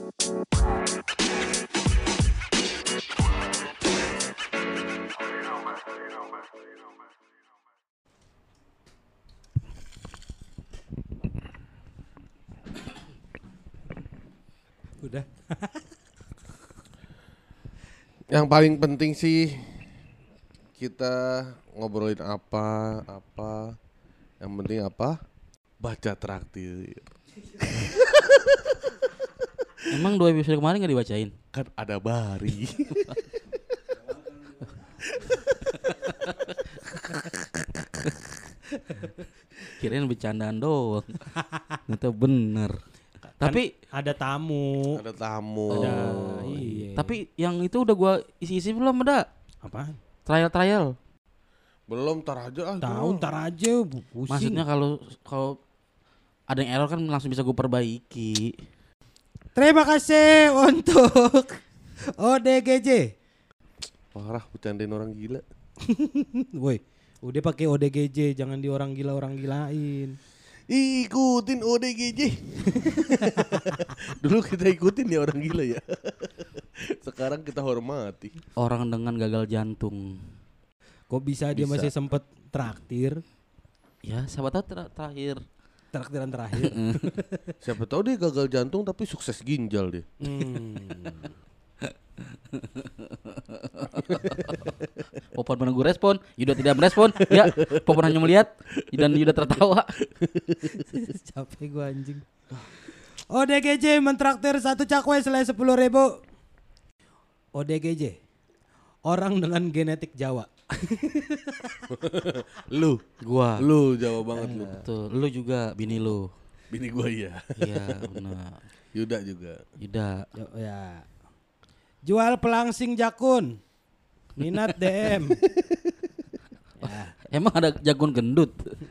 Udah. Yang paling penting sih kita ngobrolin apa. Yang penting apa? Baca traktir. Emang 2 episode kemarin gak dibacain? Kan ada Bari. Kirain bercandaan doang. Ternyata bener. Tapi Ada tamu. Ada tamu. Ada iya. tapi yang itu udah gua isi-isi belum ada? Apaan? Trial. Belum, tar aja ah. Tahu ntar aja pusing. Maksudnya kalau ada yang error kan langsung bisa gue perbaiki. Terima kasih untuk ODGJ. Parah, bercandain orang gila. Woi, udah pakai ODGJ, jangan di orang gilain. Ikutin ODGJ. Dulu kita ikutin ya orang gila ya. Sekarang kita hormati. Orang dengan gagal jantung. Kok bisa dia Bisa. masih sempet traktir? Ya, siapa tahu terakhir. Traktiran terakhir. Siapa tahu dia gagal jantung tapi sukses ginjal dia. Popon menunggu respon, Yuda tidak merespon. Ya, Popon hanya melihat dan Yuda tertawa. Capek gua anjing. ODGJ mentraktir satu cakwe selai 10.000. ODGJ, orang dengan genetik Jawa. Lu Gua. Jawa banget lu. Tuh, lu juga bini lu. Bini gua iya. Iya, benar. Yuda juga. Yuda. Ya. Jual pelangsing jakun. Minat DM. Ya. Emang ada jagung gendut?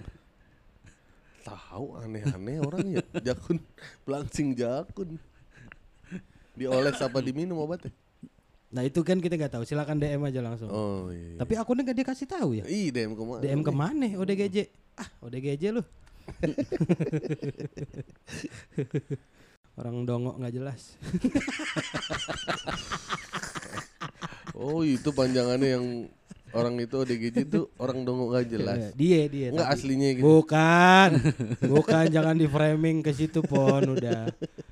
Tahu aneh-aneh orang ya. Jakun, pelangsing jakun. Dioles apa diminum obatnya? Nah itu kan kita nggak tahu. Silakan DM aja langsung. Oh iya. Tapi akunnya nggak dikasih tahu ya. Ih, DM kemana? DM kemana? ODGJ. ODGJ lu. Orang dongok nggak jelas. Oh itu panjangannya yang orang itu ODGJ itu orang dongok gak jelas. Dia. Enggak tapi- aslinya gitu. Bukan jangan di framing ke situ pon udah.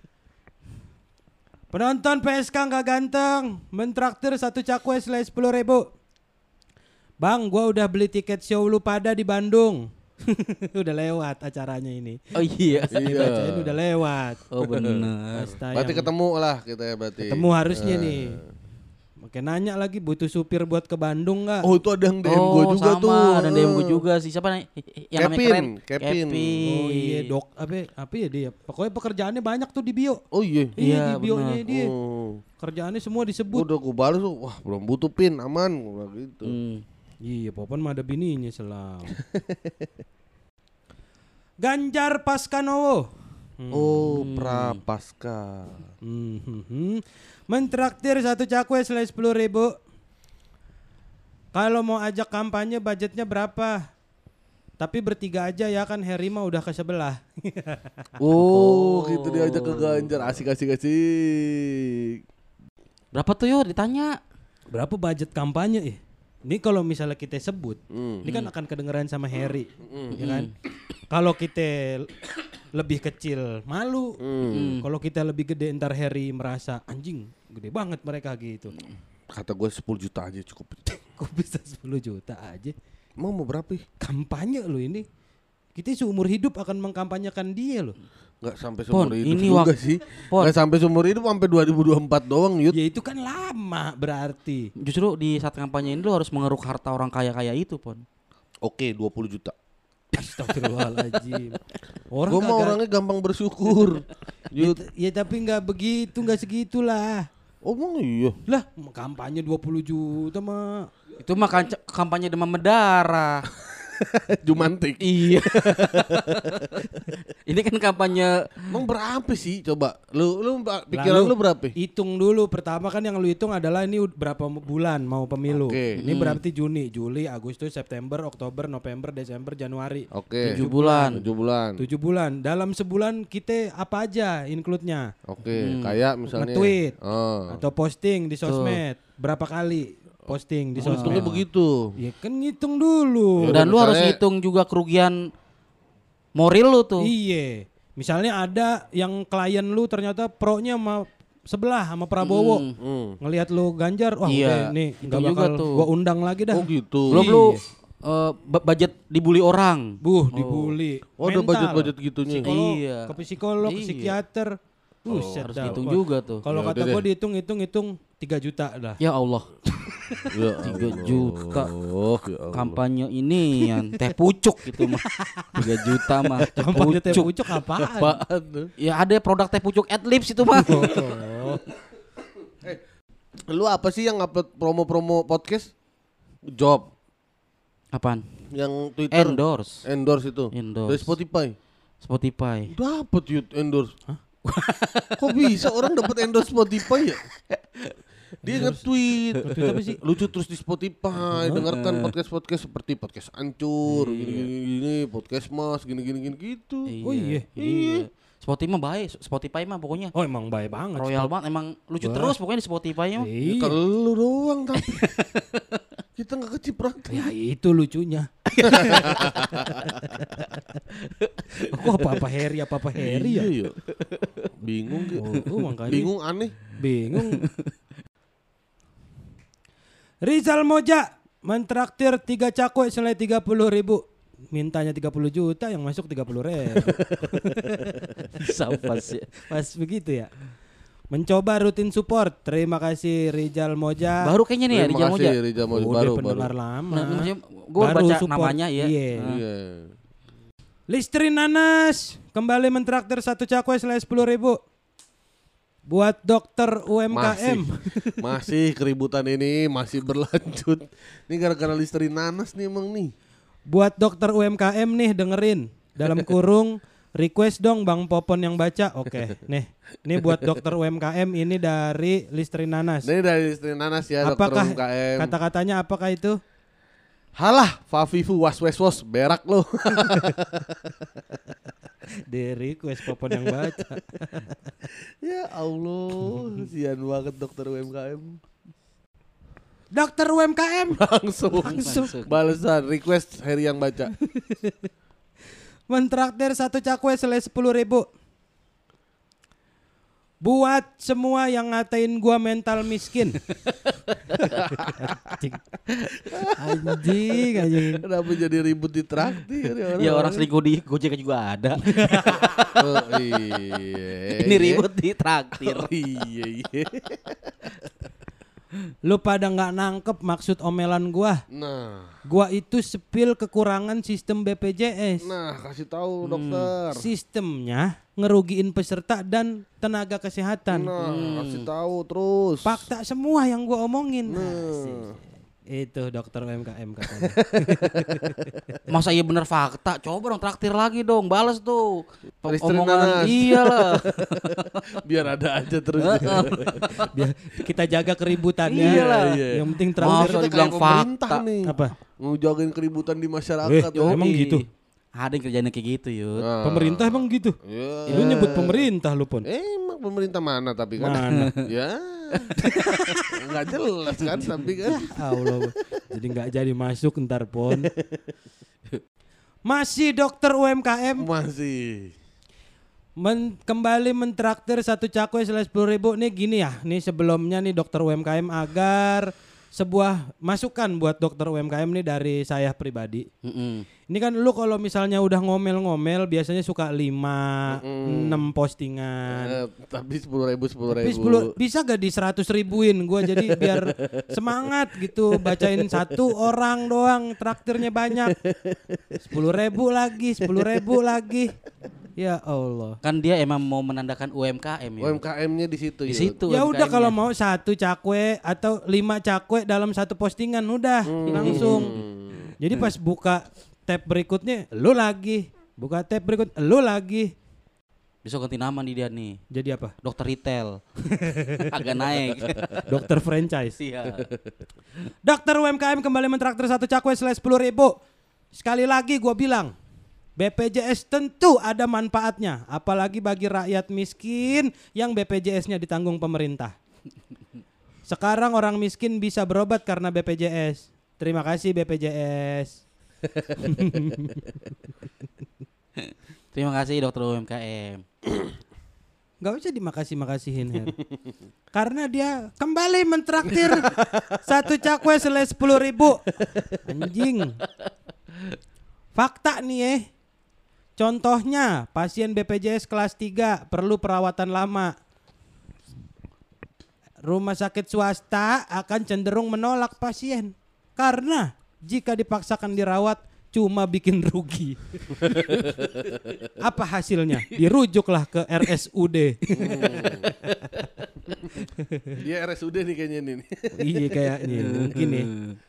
Penonton PSK nggak ganteng, mentraktir satu cakwe selai 10.000. Bang, gua udah beli tiket show lu pada di Bandung. Udah lewat acaranya ini. Oh iya. Dibacain udah lewat. Oh benar. Pas tayang. Berarti ketemu lah kita ya berarti. Ketemu harusnya nih. Oke nanya lagi butuh supir buat ke Bandung nggak? Oh itu ada yang DM gue juga sama, tuh. ada DM gue juga sih. Siapa yang namanya keren? Kevin. Oh iya dok apa ya dia? Pokoknya pekerjaannya banyak tuh di bio. Oh iya. Iya di bionya benar. dia. Oh. Kerjaannya semua disebut. Udah gue balas tuh. Wah belum butuh pin aman. Gua bilang gitu. Iya, Popon mah ada bininya selam. Ganjar Paskanowo. Oh Prapaska. Mentraktir satu cakwe selai 10.000. Kalau mau ajak kampanye budgetnya berapa? Tapi bertiga aja ya kan Harry mah udah ke sebelah. Oh gitu diajak ke Ganjar. Asik. Berapa tuh yo ditanya? Berapa budget kampanye? Ini kalau misalnya kita sebut, ini kan akan kedengeran sama Harry, ya kan? Kalau kita lebih kecil malu, kalau kita lebih gede ntar Harry merasa anjing gede banget mereka gitu. Kata gue 10 juta aja cukup. Kok bisa 10 juta aja? Emang mau berapa? Kampanye lo ini. Kita seumur hidup akan mengkampanyekan dia loh. Gak sampai Pon, seumur hidup ini juga sih. Pon. Gak sampai seumur hidup, sampai 2024 doang Yud. Ya itu kan lama berarti. Justru di saat kampanye ini lu harus mengeruk harta orang kaya-kaya itu, Pon. Oke 20 juta. Astagfirullahaladzim. Gue mah orangnya gampang bersyukur. Yud. Ya tapi nggak begitu, nggak segitulah. Oh emang iya. Lah kampanye 20 juta mah. Itu mah kampanye demam berdarah. Jumantik. Iya. Ini kan kampanye Emang berapa sih coba? Lu pikiran lu berapa? Hitung dulu. Pertama kan yang lu hitung adalah ini berapa bulan mau pemilu. Oke. Ini berarti Juni, Juli, Agustus, September, Oktober, November, Desember, Januari. Oke. 7 bulan. 7 bulan. 7 bulan. Dalam sebulan kita apa aja include-nya? Oke, kayak misalnya Nge-tweet Oh. atau posting di sosmed. Berapa kali posting di sosmed? Hitungnya begitu. Ya kan ngitung dulu. Ya, Dan lu harus misalnya- hitung juga kerugian moral lu tuh. Iya. Misalnya ada yang klien lu ternyata pro-nya sama sebelah sama Prabowo. Ngelihat lu Ganjar, wah Iya, udah nih itu enggak juga bakal tuh. gua undang lagi dah. Oh gitu. Belum lu budget dibully orang. Dibully. Oh, ada Mental. budget-budget gitunya. Psikolog, Iya. ke psikolog, ke Iya. psikiater. Buset Harus dah. hitung Wah, juga tuh. Kalau Ya kata udah gua deh. dihitung 3 juta dah. Ya Allah. Ya 3 Allah. juta. Oh, ya Allah. Kampanye ini yang teh pucuk gitu mah. 3 juta mah. Teh Kampanye teh pucuk. pucuk apaan? Apaan tuh? Ya ada produk teh pucuk Adlibs itu mah. Oh. Lu apa sih yang upload promo-promo podcast? Job. Apaan? Yang Twitter. Endorse Itu. Endorse. Dari Spotify. Spotify. Dapat yut endorse. Kok bisa orang dapat endorse Spotify ya? Dia nge-tweet. Nge-tweet apa sih? Lucu terus di Spotify. Dengarkan podcast-podcast seperti podcast Ancur, gini-gini, podcast Mas, gini-gini gitu. Oh iya. Iya. Spotify mah pokoknya Oh emang baik banget. royal banget, emang lucu terus pokoknya di Spotify mah. Iya. Kalau lu doang tapi kita nggak kecipratan. Ya itu lucunya. Aku apa-apa Harry ya. Iya. Bingung gitu. Oh, makanya. Bingung aneh. Bingung. Rizal Moja mentraktir 3 cakwe senilai 30.000. Mintanya 30 juta, yang masuk 30.000. Pas ya. Pas begitu ya. Mencoba rutin support. Terima kasih Rizal Moja. Baru kayaknya nih ya Terima Rijal kasih, Moja. Rizal Moja. Udah Baru. pendengar lama. Nah, maksudnya gue Baru baca support. namanya ya. Iya. Nah. Iya. Listrin Nanas kembali mentraktir 1 cakwe senilai 10.000. Buat dokter UMKM. Masih keributan ini masih berlanjut. Ini gara-gara Listerin Nanas nih emang nih. Buat dokter UMKM nih dengerin. Dalam kurung request dong Bang Popon yang baca. Oke, nih. Ini buat dokter UMKM, ini dari Listrin Nanas. Ini dari Listerin Nanas ya, Apakah dokter UMKM. kata-katanya apakah itu? Halah, Fafifu was berak lo. Di request Popon yang baca. Ya Allah, sian banget dokter UMKM. Dokter UMKM Langsung. Balasan request Harry yang baca. mentraktir 1 cakwe senilai 10.000. Buat semua yang ngatain gua mental miskin. Anjing. Kenapa jadi ribut di traktir Ya orang selingkuh di Gojek juga ada. Oh, iya. Ini ribut di traktir. Oh, iya. Lu pada nggak nangkep maksud omelan gua. Nah, Gua itu sepil kekurangan sistem BPJS. kasih tahu dokter. Sistemnya ngerugiin peserta dan tenaga kesehatan. Kasih tahu terus. Fakta semua yang gua omongin. Nah. Itu dokter UMKM katanya. Masa iya bener fakta? Coba dong traktir lagi dong, balas tuh. Listerin Nanas. Iyalah. Biar ada aja terus. Biar kita jaga keributannya. Iyalah. Yang penting Masa terakhir Kita dibilang kayak pemerintah fakta. nih. apa? Ngejagain keributan di masyarakat. Eh, emang gitu? Ada yang kerjanya kayak gitu, Yud. Nah. Pemerintah emang gitu. Ya. Lu nyebut pemerintah lu Pon. Emang pemerintah mana tapi kan? Mana? Ya. Nggak jelas kan tapi kan. Allah. Jadi nggak jadi masuk ntar Pon. Masih dokter UMKM Masih. kembali mentraktir 1 cakwe senilai 10.000. Nih gini ya, nih sebelumnya nih dokter UMKM agar sebuah masukan buat dokter UMKM nih dari saya pribadi. Ini kan lu kalau misalnya udah ngomel-ngomel biasanya suka 5, 6 postingan. Tapi 10.000. Tapi 10, bisa gak di 100.000-in gua jadi biar semangat gitu bacain 1 orang doang traktirnya banyak. 10.000 lagi, 10.000 lagi. Ya Allah. Kan dia emang mau menandakan UMKM ya. UMKM-nya di situ. Di Yud. situ. Ya udah UMKM-nya. kalau mau 1 cakwe atau 5 cakwe dalam 1 postingan udah langsung. Jadi pas buka tab berikutnya lu lagi. Buka tab berikut lu lagi. Besok ganti nama nih dia nih. Jadi apa? Dokter retail. Agak naik. Dokter franchise. Iya. Dokter UMKM kembali mentraktir 1 cakwe /10.000. Sekali lagi gua bilang, BPJS tentu ada manfaatnya, apalagi bagi rakyat miskin yang BPJS-nya ditanggung pemerintah. Sekarang orang miskin bisa berobat karena BPJS. Terima kasih BPJS. Terima kasih dokter UMKM. Gak usah dimakasih-makasihin Her. Karena dia kembali mentraktir 1 cakwe /10.000. Anjing. Fakta nih Contohnya pasien BPJS kelas 3 perlu perawatan lama. Rumah sakit swasta akan cenderung menolak pasien karena jika dipaksakan dirawat cuma bikin rugi. Apa hasilnya? Dirujuklah ke RSUD. Dia RSUD nih kayaknya nih. Iya kayaknya mungkin nih.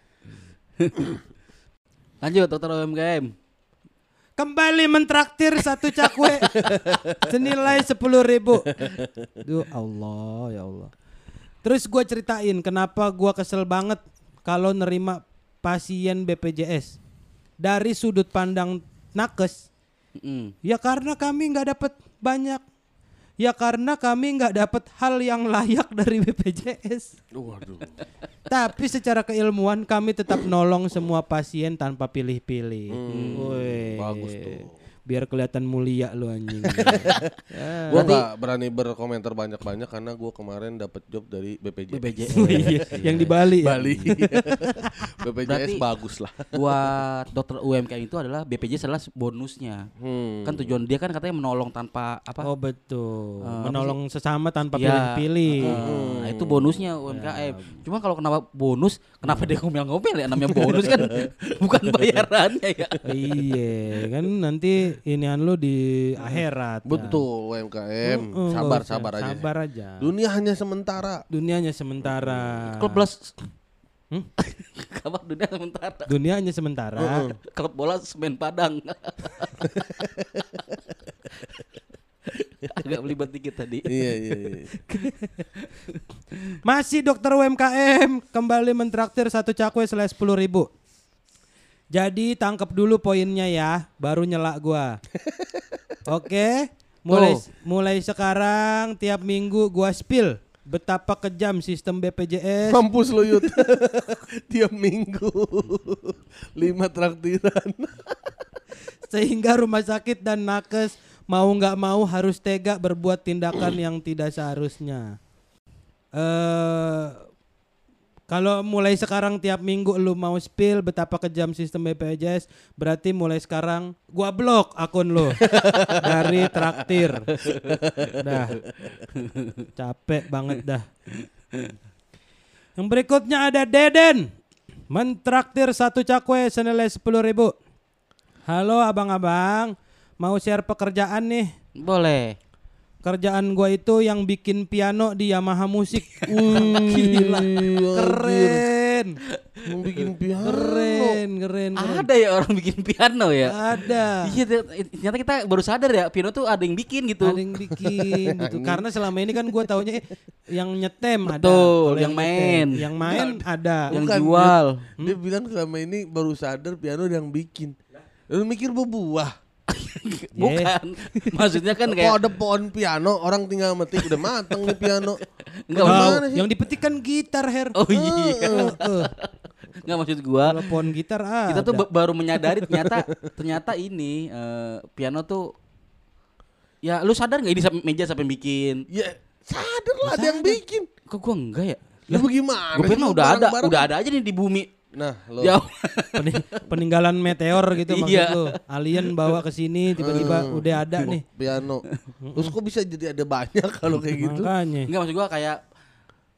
Lanjut dokter UMKM. Kembali mentraktir 1 cakwe senilai 10.000. Duh Allah ya Allah. Terus gue ceritain kenapa gue kesel banget kalau nerima pasien BPJS dari sudut pandang nakes. Ya karena kami nggak dapat banyak. Ya karena kami nggak dapat hal yang layak dari BPJS. Waduh. Tapi secara keilmuan kami tetap nolong semua pasien tanpa pilih-pilih. Bagus tuh. Biar kelihatan mulia lu anjing. Gue gak berani berkomentar banyak-banyak karena gue kemarin dapat job dari BPJS. Yang di Bali ya? Bali. BPJS Berarti bagus lah. Buat dokter UMKM itu adalah BPJS adalah bonusnya. Kan tujuan dia kan katanya menolong tanpa apa? Oh betul. Menolong sesama tanpa Ya, pilih-pilih. Nah, itu bonusnya UMKM. Cuma kalau kenapa bonus, kenapa dia ngomel-ngomel ya? Namanya bonus kan bukan bayarannya ya. Iya, kan nanti inian lu di akhirat. Betul UMKM. Sabar aja. Sabar aja. Dunia hanya sementara. Dunianya sementara. Klub bola kabar dunia sementara. Dunianya sementara. Klub bola Semen Padang. Agak belibet dikit tadi. Iya. Masih dokter UMKM kembali mentraktir 1 cakwe /10.000. Jadi tangkap dulu poinnya ya, baru nyela gua. Oke, mulai sekarang tiap minggu gua spill betapa kejam sistem BPJS. Mampus lo Yud. Tiap minggu 5 traktiran. Sehingga rumah sakit dan nakes mau nggak mau harus tega berbuat tindakan yang tidak seharusnya. Kalau mulai sekarang tiap minggu lu mau spill betapa kejam sistem BPJS, berarti mulai sekarang gua blok akun lu dari traktir. Dah. Capek banget dah. Yang berikutnya ada Deden. Mentraktir 1 cakwe senilai 10.000. Halo abang-abang, mau share pekerjaan nih. Boleh. Kerjaan gua itu yang bikin piano di Yamaha Musik. Gila. Keren. Mau bikin piano. Keren. Ada ya orang bikin piano ya? Ada. Iya, ternyata kita baru sadar ya piano tuh ada yang bikin gitu. Ada yang bikin gitu. Karena selama ini kan gua taunya yang nyetem ada. Betul, Kalau yang main. nyetem. Yang main ada. Yang Bukan, jual. Dia bilang selama ini baru sadar piano yang bikin. Lu mikir berbuah. Bukan. Maksudnya kan Kok kayak ada pohon piano, orang tinggal metik udah mateng nih piano. enggak Gimana sih? Yang dipetik kan gitar, Her. Oh iya. Enggak maksud gua. Kalau pohon gitar ada. Kita tuh baru menyadari ternyata ini piano tuh ya lu sadar enggak ini meja sampai bikin? Ya sadar lah ada yang bikin. Kok gua enggak ya? Lu bagaimana? Gua pikir mah sih udah ada aja nih di bumi. Nah, lo Jauh. Peninggalan meteor gitu maksud Iya. lu. Alien bawa ke sini tiba-tiba udah ada nih. piano. Terus kok bisa jadi ada banyak kalau kayak gitu? Makanya. Enggak maksud gua kayak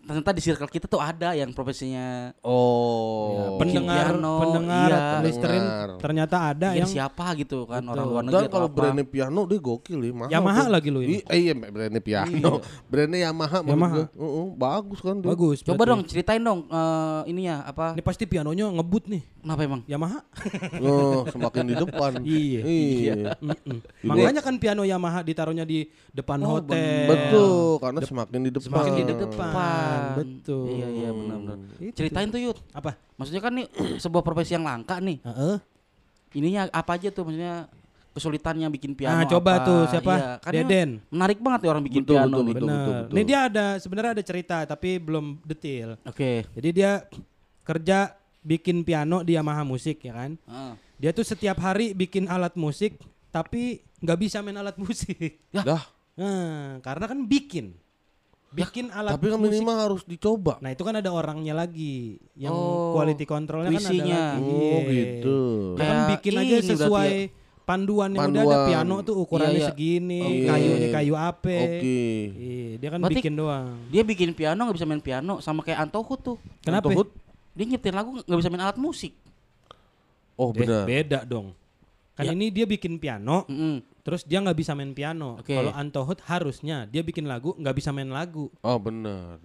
ternyata di circle kita tuh ada yang profesinya Oh. bikin pendengar piano, pendengar iya. listerin Pendengar. ternyata ada yang yang siapa gitu kan, Betul. orang luar negeri Dan atau kalau apa. brandnya piano dia gokil ya, mahal. Yamaha tuh. lagi lu ini. Iya, brandnya piano. Brandnya Yamaha menurut Yamaha. gua. Bagus kan dia. bagus. Coba berarti. dong ceritain dong ininya apa? Ini pasti pianonya ngebut nih. Kenapa emang? Yamaha. Oh, semakin di depan. Iya. Iya. Mm-mm. Makanya kan piano Yamaha ditaruhnya di depan hotel. Betul, karena semakin di depan. Semakin di depan. Depan. Betul. Iya benar-benar. Itu. Ceritain tuh Yud. Apa? Maksudnya kan nih sebuah profesi yang langka nih. Heeh. Ininya apa aja tuh maksudnya kesulitannya bikin piano. Nah, coba apa. tuh siapa? Iya, kan ini Deden. menarik banget ya orang bikin Betul, piano betul, nih. betul. Bener. Ini dia sebenarnya ada cerita tapi belum detail. Oke. Jadi dia kerja bikin piano di Yamaha Musik ya kan. Heeh. Dia tuh setiap hari bikin alat musik tapi nggak bisa main alat musik. Dah, Nah, karena kan bikin alat tapi kan musik. minimal harus dicoba. Nah itu kan ada orangnya lagi yang Oh, quality controlnya kan ada QC-nya. lagi. Oh, Iya. gitu. Dia kan Kayak bikin aja ini berarti sesuai panduan yang udah ada. Panduan. Piano tuh ukurannya Iya, iya. segini, Oke. kayunya kayu apa. Oke. Iya, dia kan Berarti bikin doang. Dia bikin piano nggak bisa main piano sama kayak Anto Hood tuh. Kenapa? Anto Hood? Dia nyiptain lagu nggak bisa main alat musik. Oh, benar. Beda dong. Kan Ya. ini dia bikin piano, Mm-mm. terus dia nggak bisa main piano. Oke. Kalau Anto Hood harusnya dia bikin lagu nggak bisa main lagu. Oh, benar.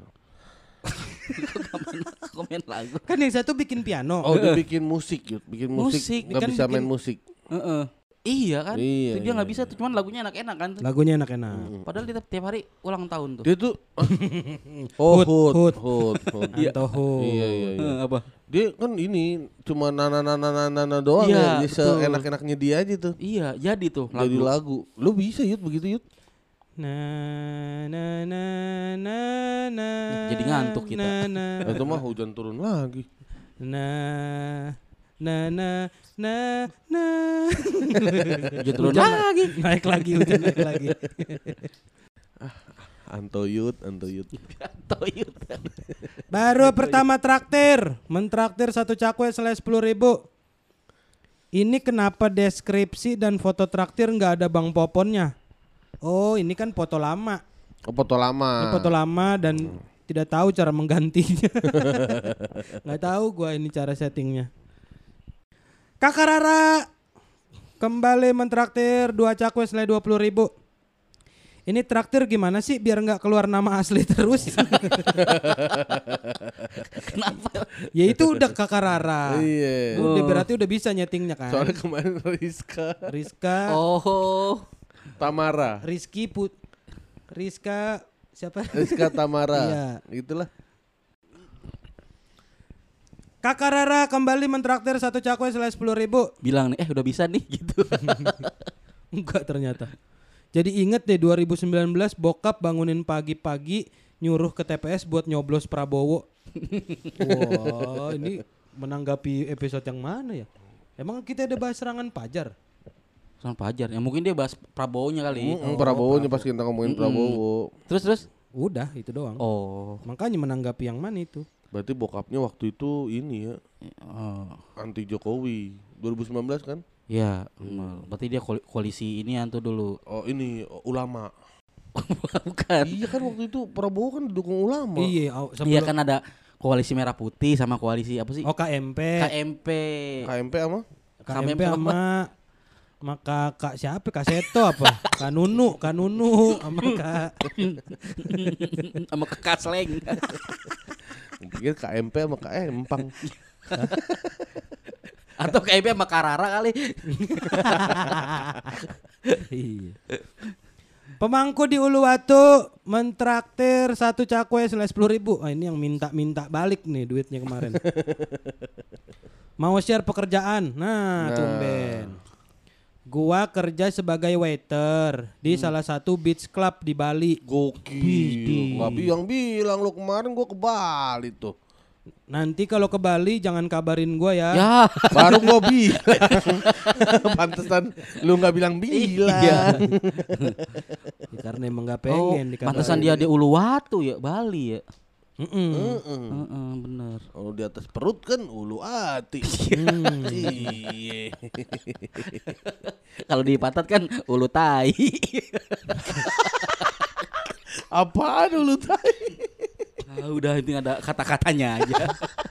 Kok main lagu? Kan yang satu bikin piano. Oh, dia bikin musik, Yud. Bikin musik, Musik. nggak Kan bisa main bikin- musik. Heeh. Iya kan? Iya, Tuh dia nggak iya, bisa tuh, cuman lagunya enak-enak kan tuh. Lagunya enak-enak. Padahal dia tiap hari ulang tahun tuh. Dia tuh Oh, Hood, Hood. Hood. Anto Hood. Iya, iya, iya. Apa? Dia kan ini cuma nana doang Iya, ya. Dia betul. seenak-enaknya dia aja tuh. Iya, jadi tuh Jadi lagu. lagu. Lu bisa Yud begitu Yud? Na na na na na. Jadi ngantuk kita. Na Itu mah hujan turun lagi. na na na na na. Hujan turun lagi. Naik lagi hujan naik lagi. Anto Yud. Toyut. Baru pertama traktir, mentraktir satu cakwe selesai 10.000. Ini kenapa deskripsi dan foto traktir nggak ada Bang Poponnya? Oh, ini kan foto lama. Oh, foto lama. Ini foto lama dan tidak tahu cara menggantinya. Nggak tahu gua ini cara settingnya. Kakak Rara kembali mentraktir 2 cakwe senilai 20.000. Ini traktir gimana sih biar nggak keluar nama asli terus? Kenapa? Ya itu udah Kakak Rara. Iya. Udah berarti udah bisa nyetingnya kan. Soalnya kemarin Rizka, Oh. Tamara. Rizka siapa? Rizka Tamara. Iya. Itulah. Kakak Rara kembali mentraktir satu cakwe senilai 10.000. Bilang nih, udah bisa nih gitu. Enggak ternyata. Jadi inget deh 2019 bokap bangunin pagi-pagi nyuruh ke TPS buat nyoblos Prabowo. Wah, ini menanggapi episode yang mana ya? Emang kita ada bahas serangan Pajar? Sama Pajar. Ya mungkin dia bahas Prabowo-nya kali. Prabowo-nya pas kita ngomongin Prabowo. Terus. Udah, itu doang. Oh. Makanya menanggapi yang mana itu? Berarti bokapnya waktu itu ini ya Oh. anti Jokowi 2019 kan? Ya, berarti dia koalisi ini tuh dulu. Oh ini ulama. Bukan. Iya kan waktu itu Prabowo kan dukung ulama. Iya, Iya kan ada koalisi merah putih sama koalisi apa sih? Oh KMP. KMP. KMP sama? KMP sama Kak siapa? Kak Seto apa? Kak Nunu sama Kak sama Kekasleng. Pikir KMP sama Kak Empang. Atau KMP sama Karara kali. Iya. Pemangku di Uluwatu mentraktir satu cakwe senilai 10.000. Ini yang minta balik nih duitnya kemarin. Mau share pekerjaan. Nah, tumben. Gua kerja sebagai waiter di salah satu beach club di Bali. Gokil. Gak bilang lu kemarin gua ke Bali tuh. Nanti kalau ke Bali jangan kabarin gua ya. Ya. Baru gua bilang. Pantesan lu gak bilang. Ya, karena emang gak pengen dikabarin. Pantesan dia di Uluwatu ya, Bali ya. Mm-mm. Bener. Oh di atas perut kan ulu hati. Iya. Kalau di Patat kan ulu tai. Apaan ulu tai? Udah ini ada kata-katanya aja.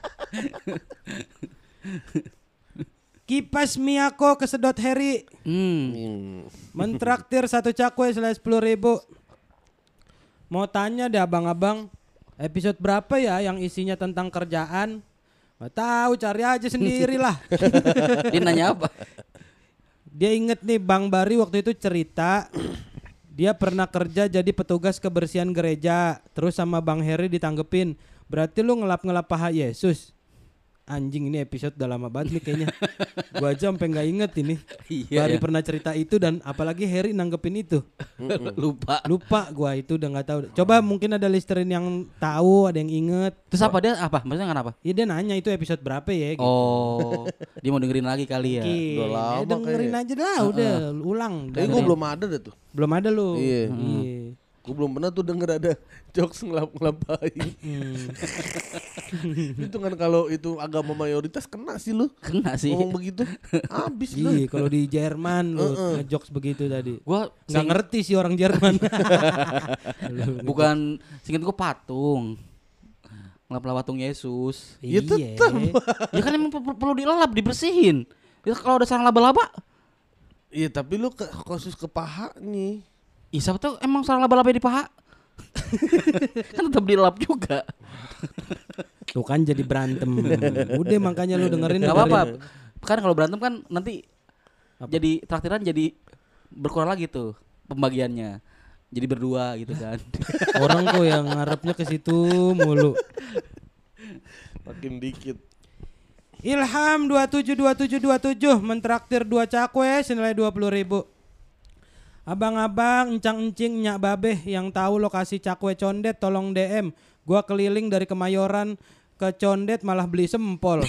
Kipas Miyako kesedot Heri. Mentraktir 1 cakwe senilai 10.000. Mau tanya deh abang-abang, episode berapa ya yang isinya tentang kerjaan? Gak tahu, cari aja sendiri lah. Dia nanya apa? Dia inget nih Bang Bari waktu itu cerita dia pernah kerja jadi petugas kebersihan gereja. Terus sama Bang Heri ditanggepin, berarti lu ngelap-ngelap paha Yesus. Anjing, ini episode udah lama banget nih kayaknya. Gua aja sampai nggak inget ini. Iya, Bari ya. pernah cerita itu dan apalagi Heri nanggepin itu. Lupa gua itu udah nggak tahu. Coba mungkin ada listerin yang tahu, ada yang inget. Terus apa dia apa? Maksudnya kenapa? Iya dia nanya itu episode berapa ya gitu. Oh, dia mau dengerin lagi kali ya. Mungkin. Udah lama Ya dengerin aja lah udah ulang. Tapi gue belum ada dah tuh. Belum ada lu. Iya. Iya. Gue belum pernah tuh denger ada jokes ngelap-ngelapain. Itu kan kalau itu agama mayoritas kena sih lu. Kena sih. Ngomong begitu habis lu. Iya, kalau di Jerman lu ngejokes begitu tadi. Gua Nggak ngerti sih orang Jerman. bukan singkat gua patung. Ngelap patung Yesus. Ya Iya. tetap. Ya kan emang perlu dilap, dibersihin. Ya, kalau ada sarang laba-laba, Iya tapi lu khusus ke paha nih. siapa tuh emang sarang laba-laba di paha? Kan tetap dilap juga. Tuh kan jadi berantem. Udah makanya lu dengerin. Gak apa-apa. Kan kalau berantem kan nanti jadi traktiran jadi berkurang lagi tuh pembagiannya. Jadi berdua gitu kan. Orang kok yang ngarepnya ke situ mulu. Makin dikit. Ilham 272727 mentraktir 2 cakwe senilai 20.000. Abang-abang, encang-encing, nyak babeh yang tahu lokasi cakwe condet tolong DM. Gua keliling dari Kemayoran ke Condet malah beli sempol.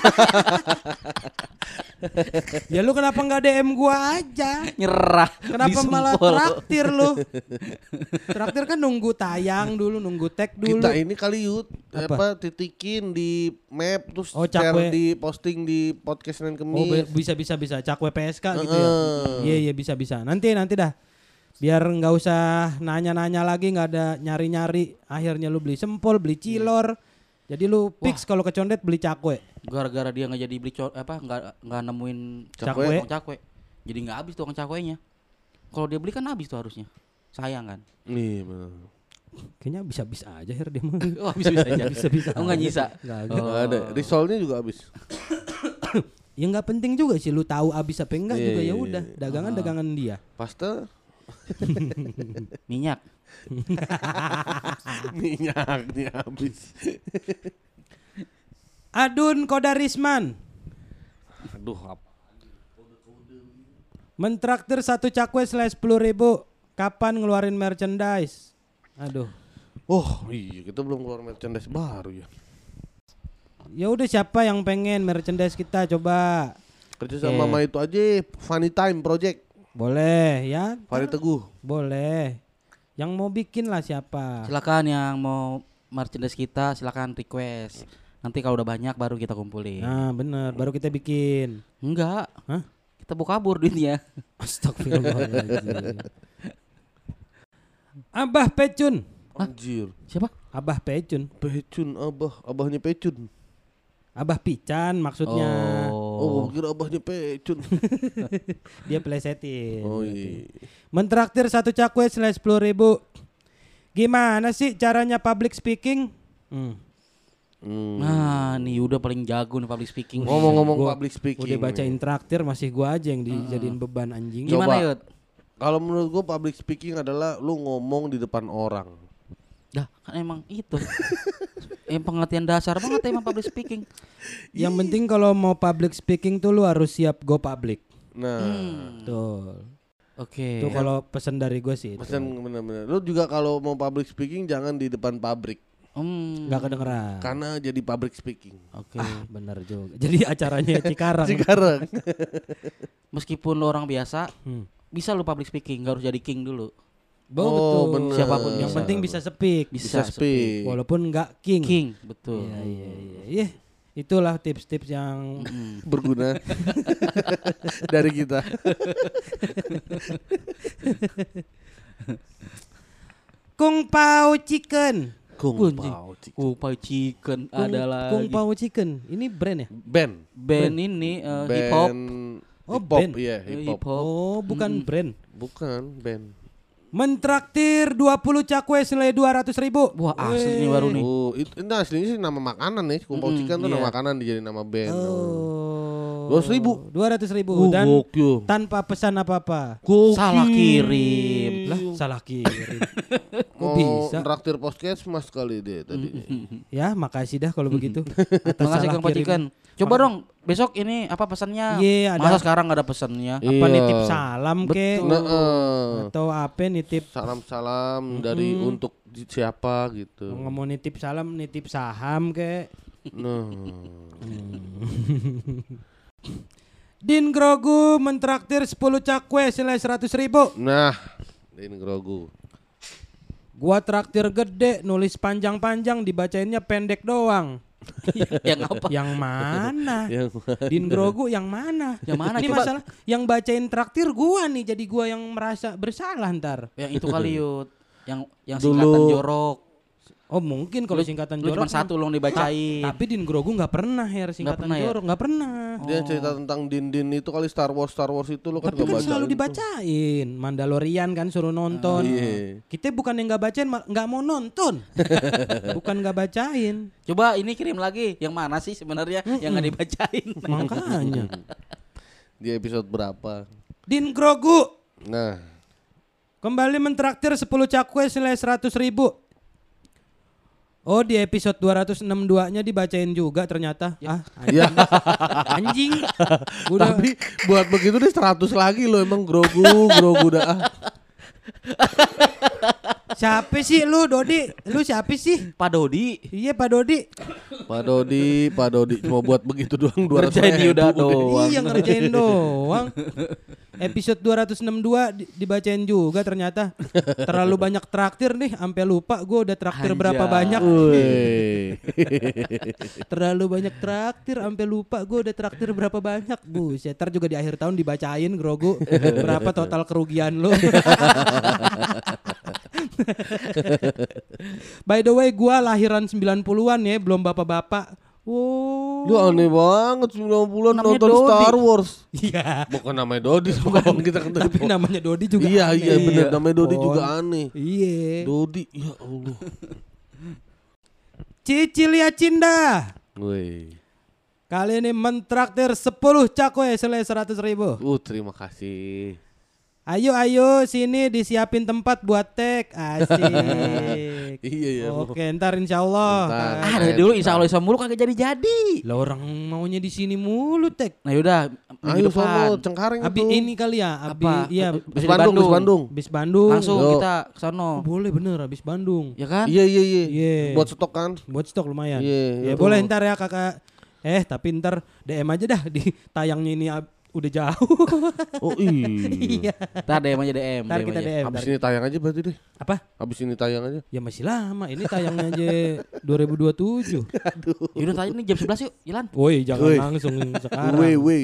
Ya lu kenapa nggak DM gua aja? Nyerah. Kenapa di malah sempol. traktir lu? Traktir kan nunggu tayang dulu, nunggu tag dulu. Kita ini kali Yud Apa? titikin di map terus Oh, share cakwe. di posting di podcast Senin Oh Kemis. bisa cakwe PSK gitu ya. Iya bisa. Nanti dah. Biar nggak usah nanya-nanya lagi, nggak ada nyari-nyari. Akhirnya lu beli sempol, beli cilor. Jadi lu fix kalau ke Condet beli cakwe. Gara-gara dia nggak jadi beli nggak nemuin Cakwe. cakwe. Jadi nggak habis tukang cakwenya. Kalau dia beli kan habis tuh harusnya. Sayang kan. Nih, bener. Kayaknya bisa aja Her dia mah. Oh bisa aja. Bisa. Oh nggak nyisa. Nggak ada. Nggak ada. Risolnya juga habis. Ya nggak penting juga sih lu tahu habis apa enggak Iya, juga iya, ya udah. iya. Dagangan dia. Pasta Minyak. minyaknya habis. Adun Kodarisman Aduh, apa? mentraktir 1 cakwe senilai 10.000. Kapan ngeluarin merchandise? Aduh. Oh iya, kita belum keluar merchandise baru ya. Ya udah siapa yang pengen merchandise kita coba. Kerja sama sama itu aja, Funny Time Project. Boleh ya? Fari Teguh. Boleh. Yang mau bikin lah siapa? Silakan yang mau merchandise kita silakan request. Nanti kalau udah banyak baru kita kumpulin. Nah bener, baru kita bikin. Enggak. Hah? Kita mau kabur duitnya. Astagfirullahaladzim. Abah Pecun. Anjir. Siapa? Abah Pecun. Pecun, abahnya Pecun. Abah Pican maksudnya. Oh, kira abahnya Pecun. Dia plesetin. Oh iya. Mentraktir 1 cakwe senilai 10.000. Gimana sih caranya public speaking? Nah, nih udah paling jago nih public speaking. Ngomong-ngomong Gua public speaking. Udah bacain traktir masih gua aja yang dijadiin beban anjing. Coba. Gimana Yud? Kalau menurut gua public speaking adalah lu ngomong di depan orang. Dah kan emang itu. Yang pengertian dasar banget emang public speaking. Yang penting kalau mau public speaking tuh lu harus siap go public. Nah, Tuh. Oke. Tuh kalau pesan dari gue sih itu. pesan bener-bener. Lu juga kalau mau public speaking jangan di depan pabrik. Nggak kedengeran. Karena jadi public speaking. Oke. Bener juga. Jadi acaranya Cikarang. Sekarang. Meskipun lo orang biasa, bisa lo public speaking, nggak harus jadi king dulu. Betul. bener. Siapapun Yang bisa. penting bisa speak. Bisa speak. Walaupun nggak king. King, betul. Iya. Itulah tips-tips yang Berguna dari kita. Kung Pao Chicken. Kung Pao Chicken. Kung Pao Chicken ada lagi. Kung Pao Chicken. Ini brand ya? Band ini hip Band hop. Oh, hip hop, band. iya hip hop. Oh, bukan brand. Bukan band. Mentraktir 20 cakwe senilai 200.000. Wah, asli nih baru nih. Oh, itu aslinya sih nama makanan nih. Kung Pao Chicken tuh nama makanan dijadiin nama band. Oh. 200.000. 200.000 dan gokil. tanpa pesan apa-apa. Salah kirim. Lah, salah kirim. Kok Mau bisa? traktir Puskesmas kali deh tadinya. Ya, makasih dah kalau begitu. Atas Makasih salah Kang Pao kirim. Chicken. Coba dong besok ini apa pesannya? Iya, ada. Masa sekarang nggak ada pesannya? Apa Iya. nitip salam ke? Nah, Atau apa nitip salam-salam dari untuk siapa gitu. mau nitip salam, nitip saham ke? Nah, Din Grogu mentraktir 10 cakwe senilai 100.000. nah, ini grogu. Gua traktir gede, nulis panjang-panjang, dibacainnya pendek doang. Yang apa? Yang mana? Yang Din Grogu yang mana? Yang mana? Ini Coba. masalah yang bacain traktir gua nih, jadi gua yang merasa bersalah ntar. Yang itu kali Yud. Yang Dulu. singkatan jorok. Oh mungkin kalau singkatan Lu jorok cuma satu lo dibacain. Tapi Din Grogu nggak pernah singkatan pernah ya? jorok, nggak pernah. dia cerita tentang Din itu kali Star Wars itu lo kan Tapi gak kan baca. selalu dibacain. Mandalorian kan suruh nonton. Iya. Kita bukan yang nggak bacain, nggak mau nonton. Bukan nggak bacain. Coba ini kirim lagi. Yang mana sih sebenarnya yang nggak dibacain? Makanya. Di episode berapa? Din Grogu Nah, kembali mentraktir 10 cakwe senilai 100.000. Oh, di episode 262-nya dibacain juga ternyata. Ah, ya. anjing. Udah. Tapi buat begitu deh 100 lagi lo emang grogu dah. Siapa sih lu, Dodi? Lu siapa sih? Pak Dodi. Iya, Pak Dodi. Pak Dodi cuma buat begitu doang 200 Ngerjain Yuda doang. Iya, ngerjain doang. Episode 262 dibacain juga ternyata. Terlalu banyak traktir nih, sampai lupa gue udah traktir berapa Anjay. banyak. Wih. Terlalu banyak traktir, sampai lupa gue udah traktir berapa banyak. Buset, ntar juga di akhir tahun dibacain Grogu berapa total kerugian lo. By the way, gue lahiran 90-an ya, belum bapak-bapak. Wow. Lu aneh banget 90-an Namanya nonton Dodi. Star Wars. Iya. Bukan namanya Dodi, bukan kita kan tadi. Tapi namanya Dodi juga Iya aneh. iya benar namanya Dodi Pon. juga aneh. Iya. Dodi ya Allah. Cicilia Cinda Woi. kali ini mentraktir 10 cakwe senilai 100.000. Terima kasih. Ayo sini disiapin tempat buat tag. Asik. Iya ya. Oke, ntar insyaallah. Ntar. Ah dari dulu insya Allah mulu kagak jadi. Lah orang maunya di sini mulu tag. Nah yaudah Ayo minggu depan. sono Cengkareng Abi itu. ini kali ya, abi Apa? iya Bisa di Bandung. bis Bandung. Langsung Yo. kita kesana. Boleh bener abis Bandung. Ya kan? Iya. Iya. Buat stok kan. Buat stok lumayan. Iya, Ya itu. boleh ntar ya kakak. Tapi ntar DM aja dah di tayangnya ini udah jauh. Oh iya. Iya. Ntar DM aja DM. Ntar kita aja. DM. Habis ntar. ini tayang aja berarti deh. Apa? Habis ini tayang aja. Ya masih lama. Ini tayangnya aja 2027. Yaudah tanya nih jam 11 yuk, Ilan. Woi, jangan Woi. langsung sekarang. Woi.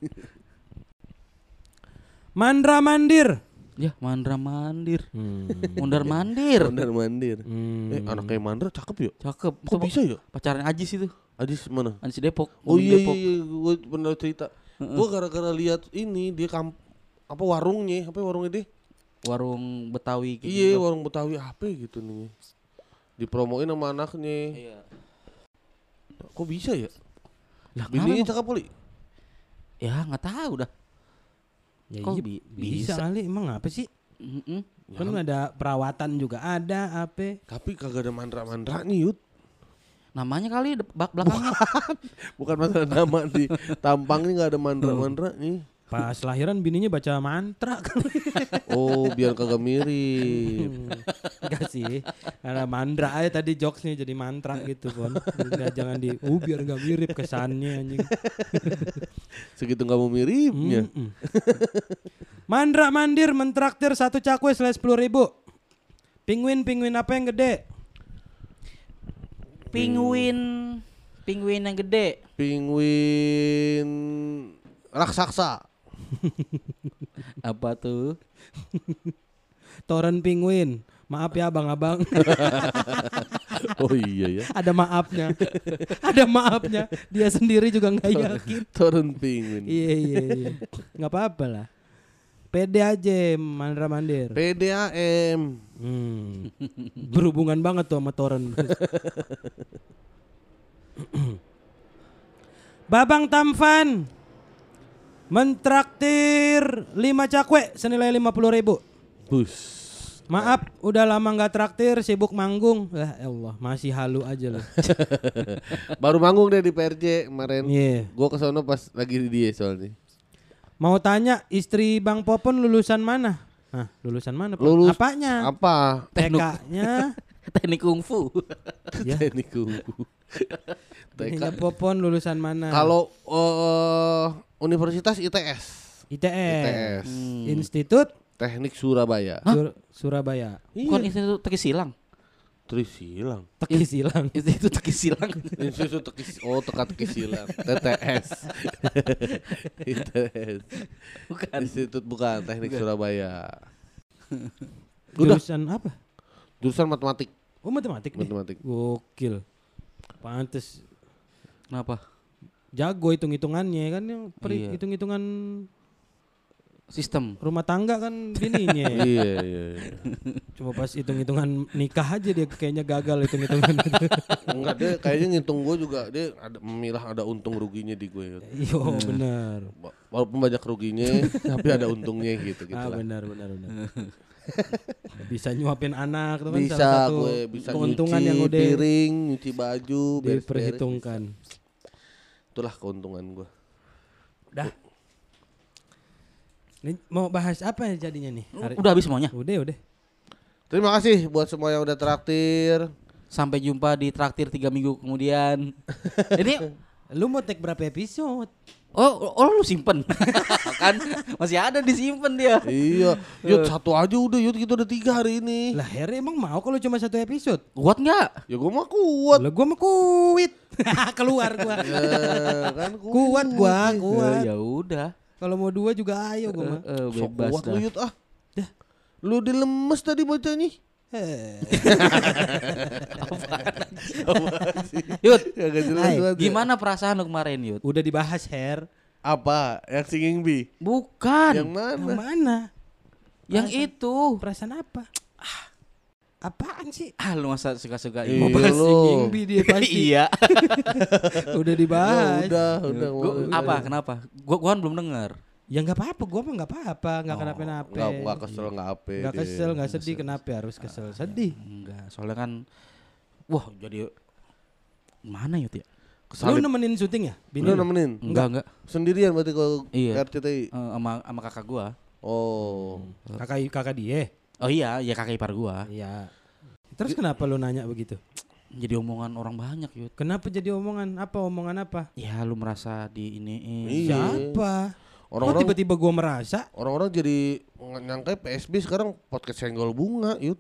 Mandra Mandir. Ya, Mandra Mandir. Hmm. Mundar Mandir. Mandir. Anak kayak Mandra cakep ya? Cakep. Kok bisa ya? Pacarnya Ajis itu. Ajis mana? Ajis Depok. Oh Ngomong iya, Depok. gue pernah cerita. Gue gara-gara lihat ini dia warungnya dia? Warung Betawi gitu. Iya, warung Betawi apa gitu nih. Dipromoin sama anaknya. Iya. Kok bisa ya? Lah, Bininya kenapa, cakep kali. ya nggak tahu dah. Ya Kok iya, bisa kali emang apa sih? Mm-mm. Kan ada perawatan juga ada apa? Tapi kagak ada mandra-mandranya Yud. Namanya kali belakangnya. Bukan masalah nama di tampangnya nggak ada mandra-mandranya. Pas lahiran bininya baca mantra kali. Oh, biar kagak mirip. Enggak sih. Karena mandra aja tadi jokesnya jadi mantra gitu Pon. Enggak, jangan biar enggak mirip kesannya anjing. Segitu nggak mau miripnya. Mandra Mandir mentraktir 1 cakwe senilai 10.000. Penguin apa yang gede? Penguin yang gede. Penguin raksasa. Apa tuh? Toren penguin. Maaf ya abang-abang. Oh iya ya. Ada maafnya. Ada maafnya. Dia sendiri juga nggak yakin. Turun penguin. Iya. Nggak apa-apa lah. Pede aja Mandra Mandir. PDAM. Berhubungan banget tuh sama Toren. Babang Tamfan mentraktir 5 cakwe senilai 50.000. Bus. Maaf, udah lama nggak traktir, sibuk manggung. Ya Allah, masih halu aja loh. Baru manggung deh di PRJ kemarin. Iya. Gua kesono pas lagi di dia soalnya. Mau tanya, istri Bang Popon lulusan mana? Hah, lulusan mana? Pon? Lulus Apanya? apa? TK-nya. Teknik kungfu. Ya. Teknik kungfu. Ininya Popon lulusan mana? Kalau Universitas ITS. ITS. Institut Teknik Surabaya. Surabaya. Bukan Institut Teki Silang. Trisilang. Teki silang. Institut Teki Silang. Institut Teka-teki silang. TTS. ITS. Bukan. Institut bukan Teknik Surabaya. Udah. Jurusan apa? Jurusan matematik. Oh, matematik nih. Matematik. Gokil. Pantes Kenapa? jago hitung-hitungannya kan yang Iya. hitung-hitungan Sistem. rumah tangga kan bininya. Iya. Cuma pas hitung-hitungan nikah aja dia kayaknya gagal hitung-hitungan itu. Enggak, dia kayaknya ngitung gue juga, dia ada memilah ada untung ruginya di gue. Iya benar. Walaupun banyak ruginya tapi ada untungnya gitu lah. Benar. Bisa nyuapin anak itu kan Bisa salah satu gue bisa keuntungan nyuci yang udah piring, nyuci baju, beres-beres. diperhitungkan. Itulah keuntungan gue. Udah. Ini mau bahas apa ya jadinya nih? Udah habis semuanya. Udah. Terima kasih buat semua yang udah traktir. Sampai jumpa di traktir 3 minggu kemudian. Ini Lu mau take berapa episode? oh lu simpen. Kan masih ada disimpan dia. Iya, Yud satu aja udah, Yud kita udah 3 hari ini. Lah Harry emang mau kalau cuma 1 episode? Kuat nggak? Ya gue mah kuat. Lah gua mah kuit. Keluar gua. Kan Kuat gua. Ya udah. Kalau mau 2 juga ayo gua mah. Sok Bebas kuat dah. lu Yud ah. Lu dilemes tadi bacanya. Yud, Kagak jelas Hai, banget ya. gimana perasaan lu kemarin, Yud? Udah dibahas Her. Apa? Yang singing bee? Bukan. Yang mana? Yang mana? Yang itu. Perasaan apa? Apaan sih? Lu masa suka-suka Iya, ini? lu. Singing bee dia pasti. Iya. Udah dibahas. Udah. Apa? Kenapa? Gua kan belum dengar. Ya nggak apa-apa, gua mah nggak apa-apa, nggak kenapa-napa. Enggak kesel, enggak apa. Nggak kesel, nggak sedih. Kenapa harus kesel? Sedih. Enggak, soalnya kan wah, jadi mana Yud ya? Lu nemenin syuting ya? Lu nemenin? Enggak. Sendirian berarti kalau Iya. RCTI. Sama kakak gua. Oh. Kakak dia. Oh iya, ya kakak ipar gua. Iya. Terus kenapa lu nanya begitu? Jadi omongan orang banyak, Yud. Kenapa jadi omongan? Apa omongan apa? Ya lu merasa di ini. Iya. Siapa? Kok Orang-orang tiba-tiba gua merasa? orang-orang jadi nyangka PSB sekarang podcast senggol bunga, Yud.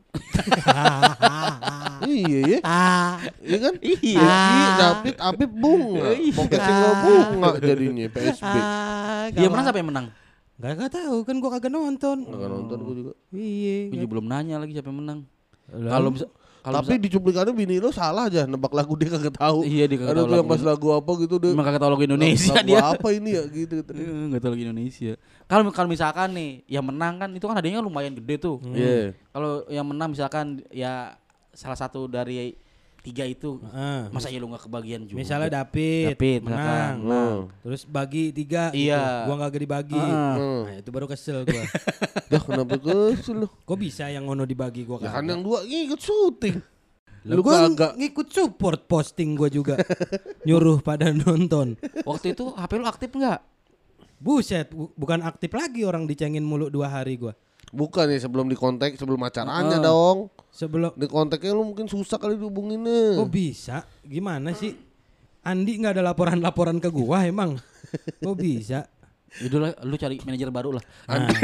Iya ya. Iya kan? Iya. David Apip bunga. Podcast senggol bunga jadinya PSB. Dia menang siapa yang menang? Gak tahu kan gua kagak nonton. Enggak nonton gua juga. Iya. Gua juga belum nanya lagi siapa yang menang. Lah. Kalau bisa Tapi di cuplikannya bini lo salah aja nebak lagu dia kagak tahu. Iya, dia kagak Ada tahu tuh yang lagu. pas lagu apa gitu dia. emang kagak tahu lagu Indonesia lagu dia. apa ini ya gitu. Enggak tahu lagu Indonesia. Kalau misalkan nih yang menang kan itu kan hadiahnya lumayan gede tuh. Iya. Kalau yang menang misalkan ya salah satu dari 3 itu, masa ya lu nggak kebagian juga? Misalnya David menang. Terus bagi 3 Iya. gitu. Gua gak dibagi. Nah, itu baru kesel gua. Dah kenapa kesel lo? Kok bisa yang ngono dibagi gua Ya kan kagak? yang 2 ikut syuting. Lah Lu gua kagak. ngikut support posting gua juga. Nyuruh pada nonton. Waktu itu HP lu aktif nggak? Buset, bukan aktif lagi orang dicengin mulu 2 hari gua. Bukan ya sebelum dikontak, sebelum acaranya dong. Sebelum Di kontaknya lu mungkin susah kali dihubunginnya. kok bisa? Gimana sih? Andi nggak ada laporan-laporan ke gua emang? Kok bisa? Yaudah lu cari manajer baru lah.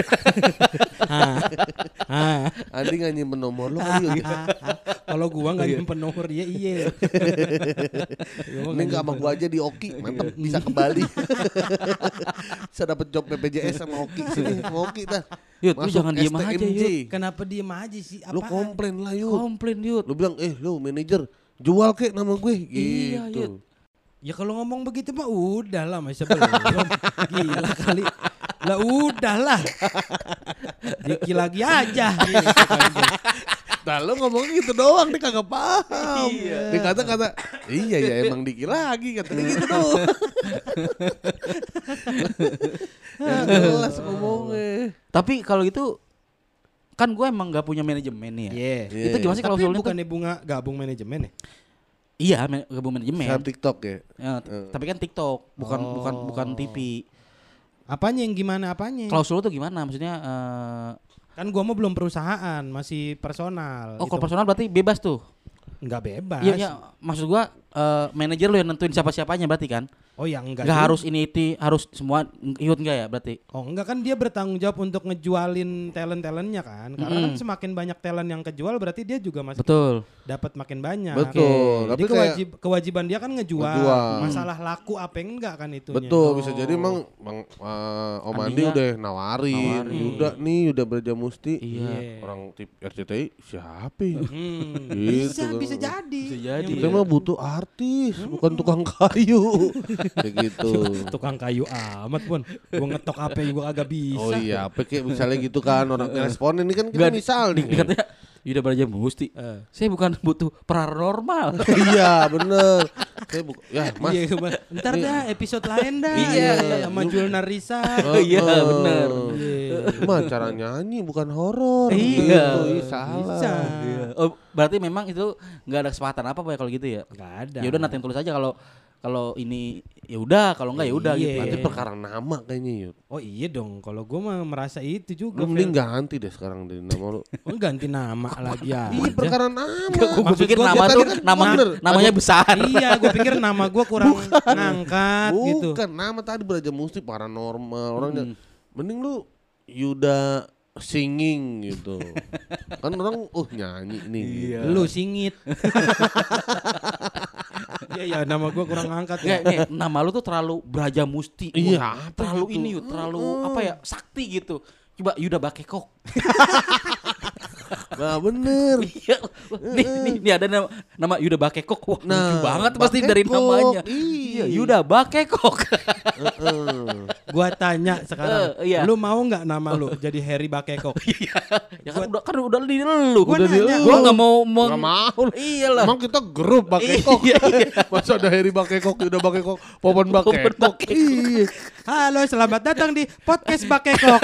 Andi nggak nyimpen nomor lu kali ya. Kalau gua nggak nyimpen nomor dia iya. Ini nggak sama gua aja di Oki, mantep bisa ke Bali. Bisa dapet job BPJS sama Oki sini, sama Oki dah. Yud, lu jangan diem aja, STMJ. Yud. Kenapa diem aja sih? Lu Apaan? komplain lah Yud. Komplain Yud. Lu bilang lu manajer jual kek nama gue Iya, gitu. Ya kalau ngomong begitu mah udah lah masa belum. Gila kali. Lah udah lah. Diki lagi aja. Nah lo ngomong gitu doang dia kagak paham. Dia kata iya ya emang Diki lagi katanya gitu doang. Yang jelas ngomongnya. Tapi kalau gitu kan gue emang gak punya manajemen nih ya. Iya. Itu gimana sih kalau Tapi usulnya tuh? bukannya Bunga gabung manajemen ya? Iya, gabung manajemen. Sama TikTok ya. Ya, tapi kan TikTok, bukan TV. Apanya yang gimana apanya? Klausul tuh gimana? Maksudnya Kan gua mah belum perusahaan, masih personal. kalau personal berarti bebas tuh. Enggak bebas. Iya, maksud gua manajer lu yang nentuin siapa-siapanya berarti kan? Oh ya enggak. Enggak juga. harus ini harus semua ikut enggak ya berarti? Oh enggak, kan dia bertanggung jawab untuk ngejualin talent-talentnya kan. Karena kan semakin banyak talent yang kejual berarti dia juga masih Betul. dapat makin banyak. Betul. Jadi Tapi kayak kewajiban dia kan ngejual. ngejual. Masalah laku apa enggak kan itunya. betul bisa jadi emang Om Andi Andinya udah nawarin. Yuda nih udah Braja Musti. Iya. Orang tip RCTI siapa ya? Bisa Gitu. bisa jadi. Bisa jadi. Kita mah butuh artis, bukan tukang kayu. Kayak gitu. Tukang kayu amat pun. Gua ngetok apa gua agak bisa. Oh iya, apa kayak misalnya gitu kan orang responden ini kan kita misal nih. Katanya Yuda Braja Musti. Saya bukan butuh paranormal. Iya, bener. Saya ya, Mas. Iya, ntar dah episode lain dah. Iya. Sama Julnar Risa. Iya, bener. Mah cara nyanyi bukan horor. Iya. Gitu. Ih, salah. Bisa. Oh, berarti memang itu enggak ada kesepakatan apa ya kalau gitu ya? Enggak ada. Ya udah nanti tulis aja kalau ini ya udah, kalau enggak ya udah gitu. Berarti perkara nama kayaknya Yud. Oh iya dong, kalau gue mah merasa itu juga. Lu mending ganti deh sekarang dari nama lu. Oh, ganti nama lagi ya. Iya perkara nama. Gue pikir gua nama tadi tuh kan namanya besar. Iya, gue pikir nama gue kurang ngangkat gitu. Bukan nama tadi Braja Musti paranormal orangnya. Mending lu Yuda singing gitu. Kan orang nyanyi nih. Gitu. Lu singit. Iya ya, nama gue kurang ngangkat ya. Nggak, nama lu tuh terlalu Braja Musti. Iya, Wah, terlalu gitu. ini yuk, terlalu apa ya? Sakti gitu. Coba Yuda Bakekok. Nah bener. Iya. Nih ada nama Yuda Bakekok. Wah, lucu banget pasti dari Bakekok. namanya. Iya. Yuda Bakekok. Gua tanya sekarang, Iya. lu mau nggak nama lu jadi Harry Bakekok? Ya kan udah di lu. Gua nanya. Gua enggak mau Nggak mau. Iyalah. Emang kita grup Bakekok. Iya. Masa ada Heri Bakekok, Yuda Bakekok, Popon Bakekok. Iya. Halo, selamat datang di podcast Bakekok.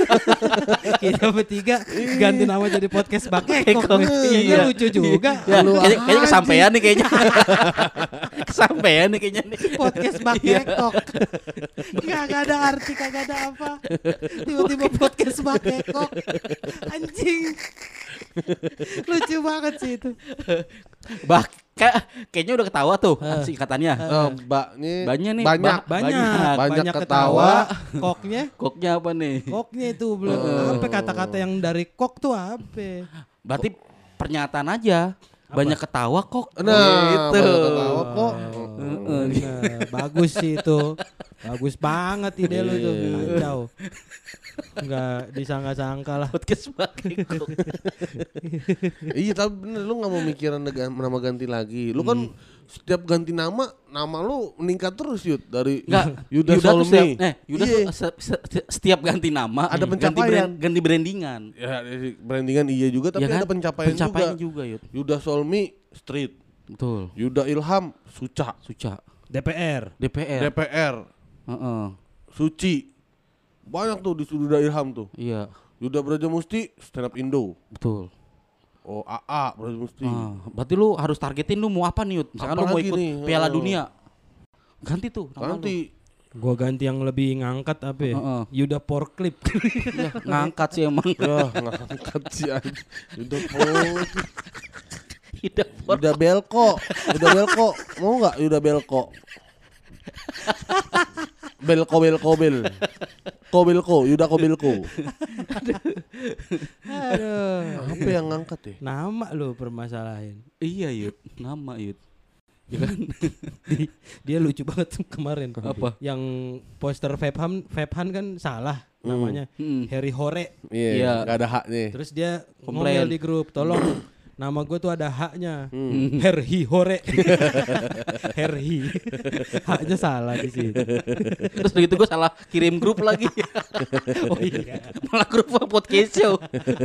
Kita bertiga ganti nama jadi podcast Bakekok. Iya, lucu juga. Ya, Lu kayaknya anjing. kesampean nih kayaknya. Kesampean nih kayaknya nih. Podcast Bakekok. Kagak ada arti, kagak ada apa. Tiba-tiba podcast Bakekok. Anjing. Lucu banget sih itu. Kayaknya udah ketawa tuh singkatannya. Mbaknya Banyak nih. Banyak ketawa. ketawa. Koknya apa nih? Koknya itu belum. Apa kata-kata yang dari kok tuh apa? Berarti pernyataan aja. Banyak ketawa kok. Nah, banyak ketawa kok. Nah, bagus sih itu. Bagus banget ide lu tuh. Kacau. Enggak disangka-sangka lah. Podcast Bakekok. Iya tapi bener lu gak mau mikirin nama ganti lagi. Lu kan setiap ganti nama lu meningkat terus Yud. Dari Enggak, Yuda tuh Solmi. Yuda Iya. tuh setiap ganti nama Ada pencapaian. ganti brandingan. Ya brandingan iya juga tapi Ya kan? ada pencapaian juga Yud. Yuda Solmi Street. Betul. Yuda Ilham Suca. DPR. DPR Heeh. Suci. Banyak tuh di Yuda Ilham tuh. Iya, Yuda Braja Musti stand up Indo. betul. Oh AA Braja Musti. Berarti lu harus targetin lu mau apa nih Yud? Misalkan Apa lu mau lagi ikut nih? Piala Dunia. Ganti tuh nama lu. Nanti Gua ganti yang lebih ngangkat apa ya? Yuda Porklip. Ya, ngangkat sih emang. ya ngangkat sih aja. Yuda Pol. Yuda Belko. Mau nggak Yuda Belko? Belko, Yuda Belko. Aduh. Apa yang ngangkat ya? Nama lu permasalahin. Iya Yud, nama Yud. Ya kan? Dia lucu banget kemarin. Apa? Yang poster Febhan kan salah namanya. Harry Hore. Iya, Iya. nggak ada hak nih. Terus dia Komplain. ngomel di grup, tolong nama gue tuh ada haknya. Herhi Hore. Herhi. Haknya salah di situ. Terus begitu gue salah kirim grup lagi. Oh iya. Malah grup podcast show.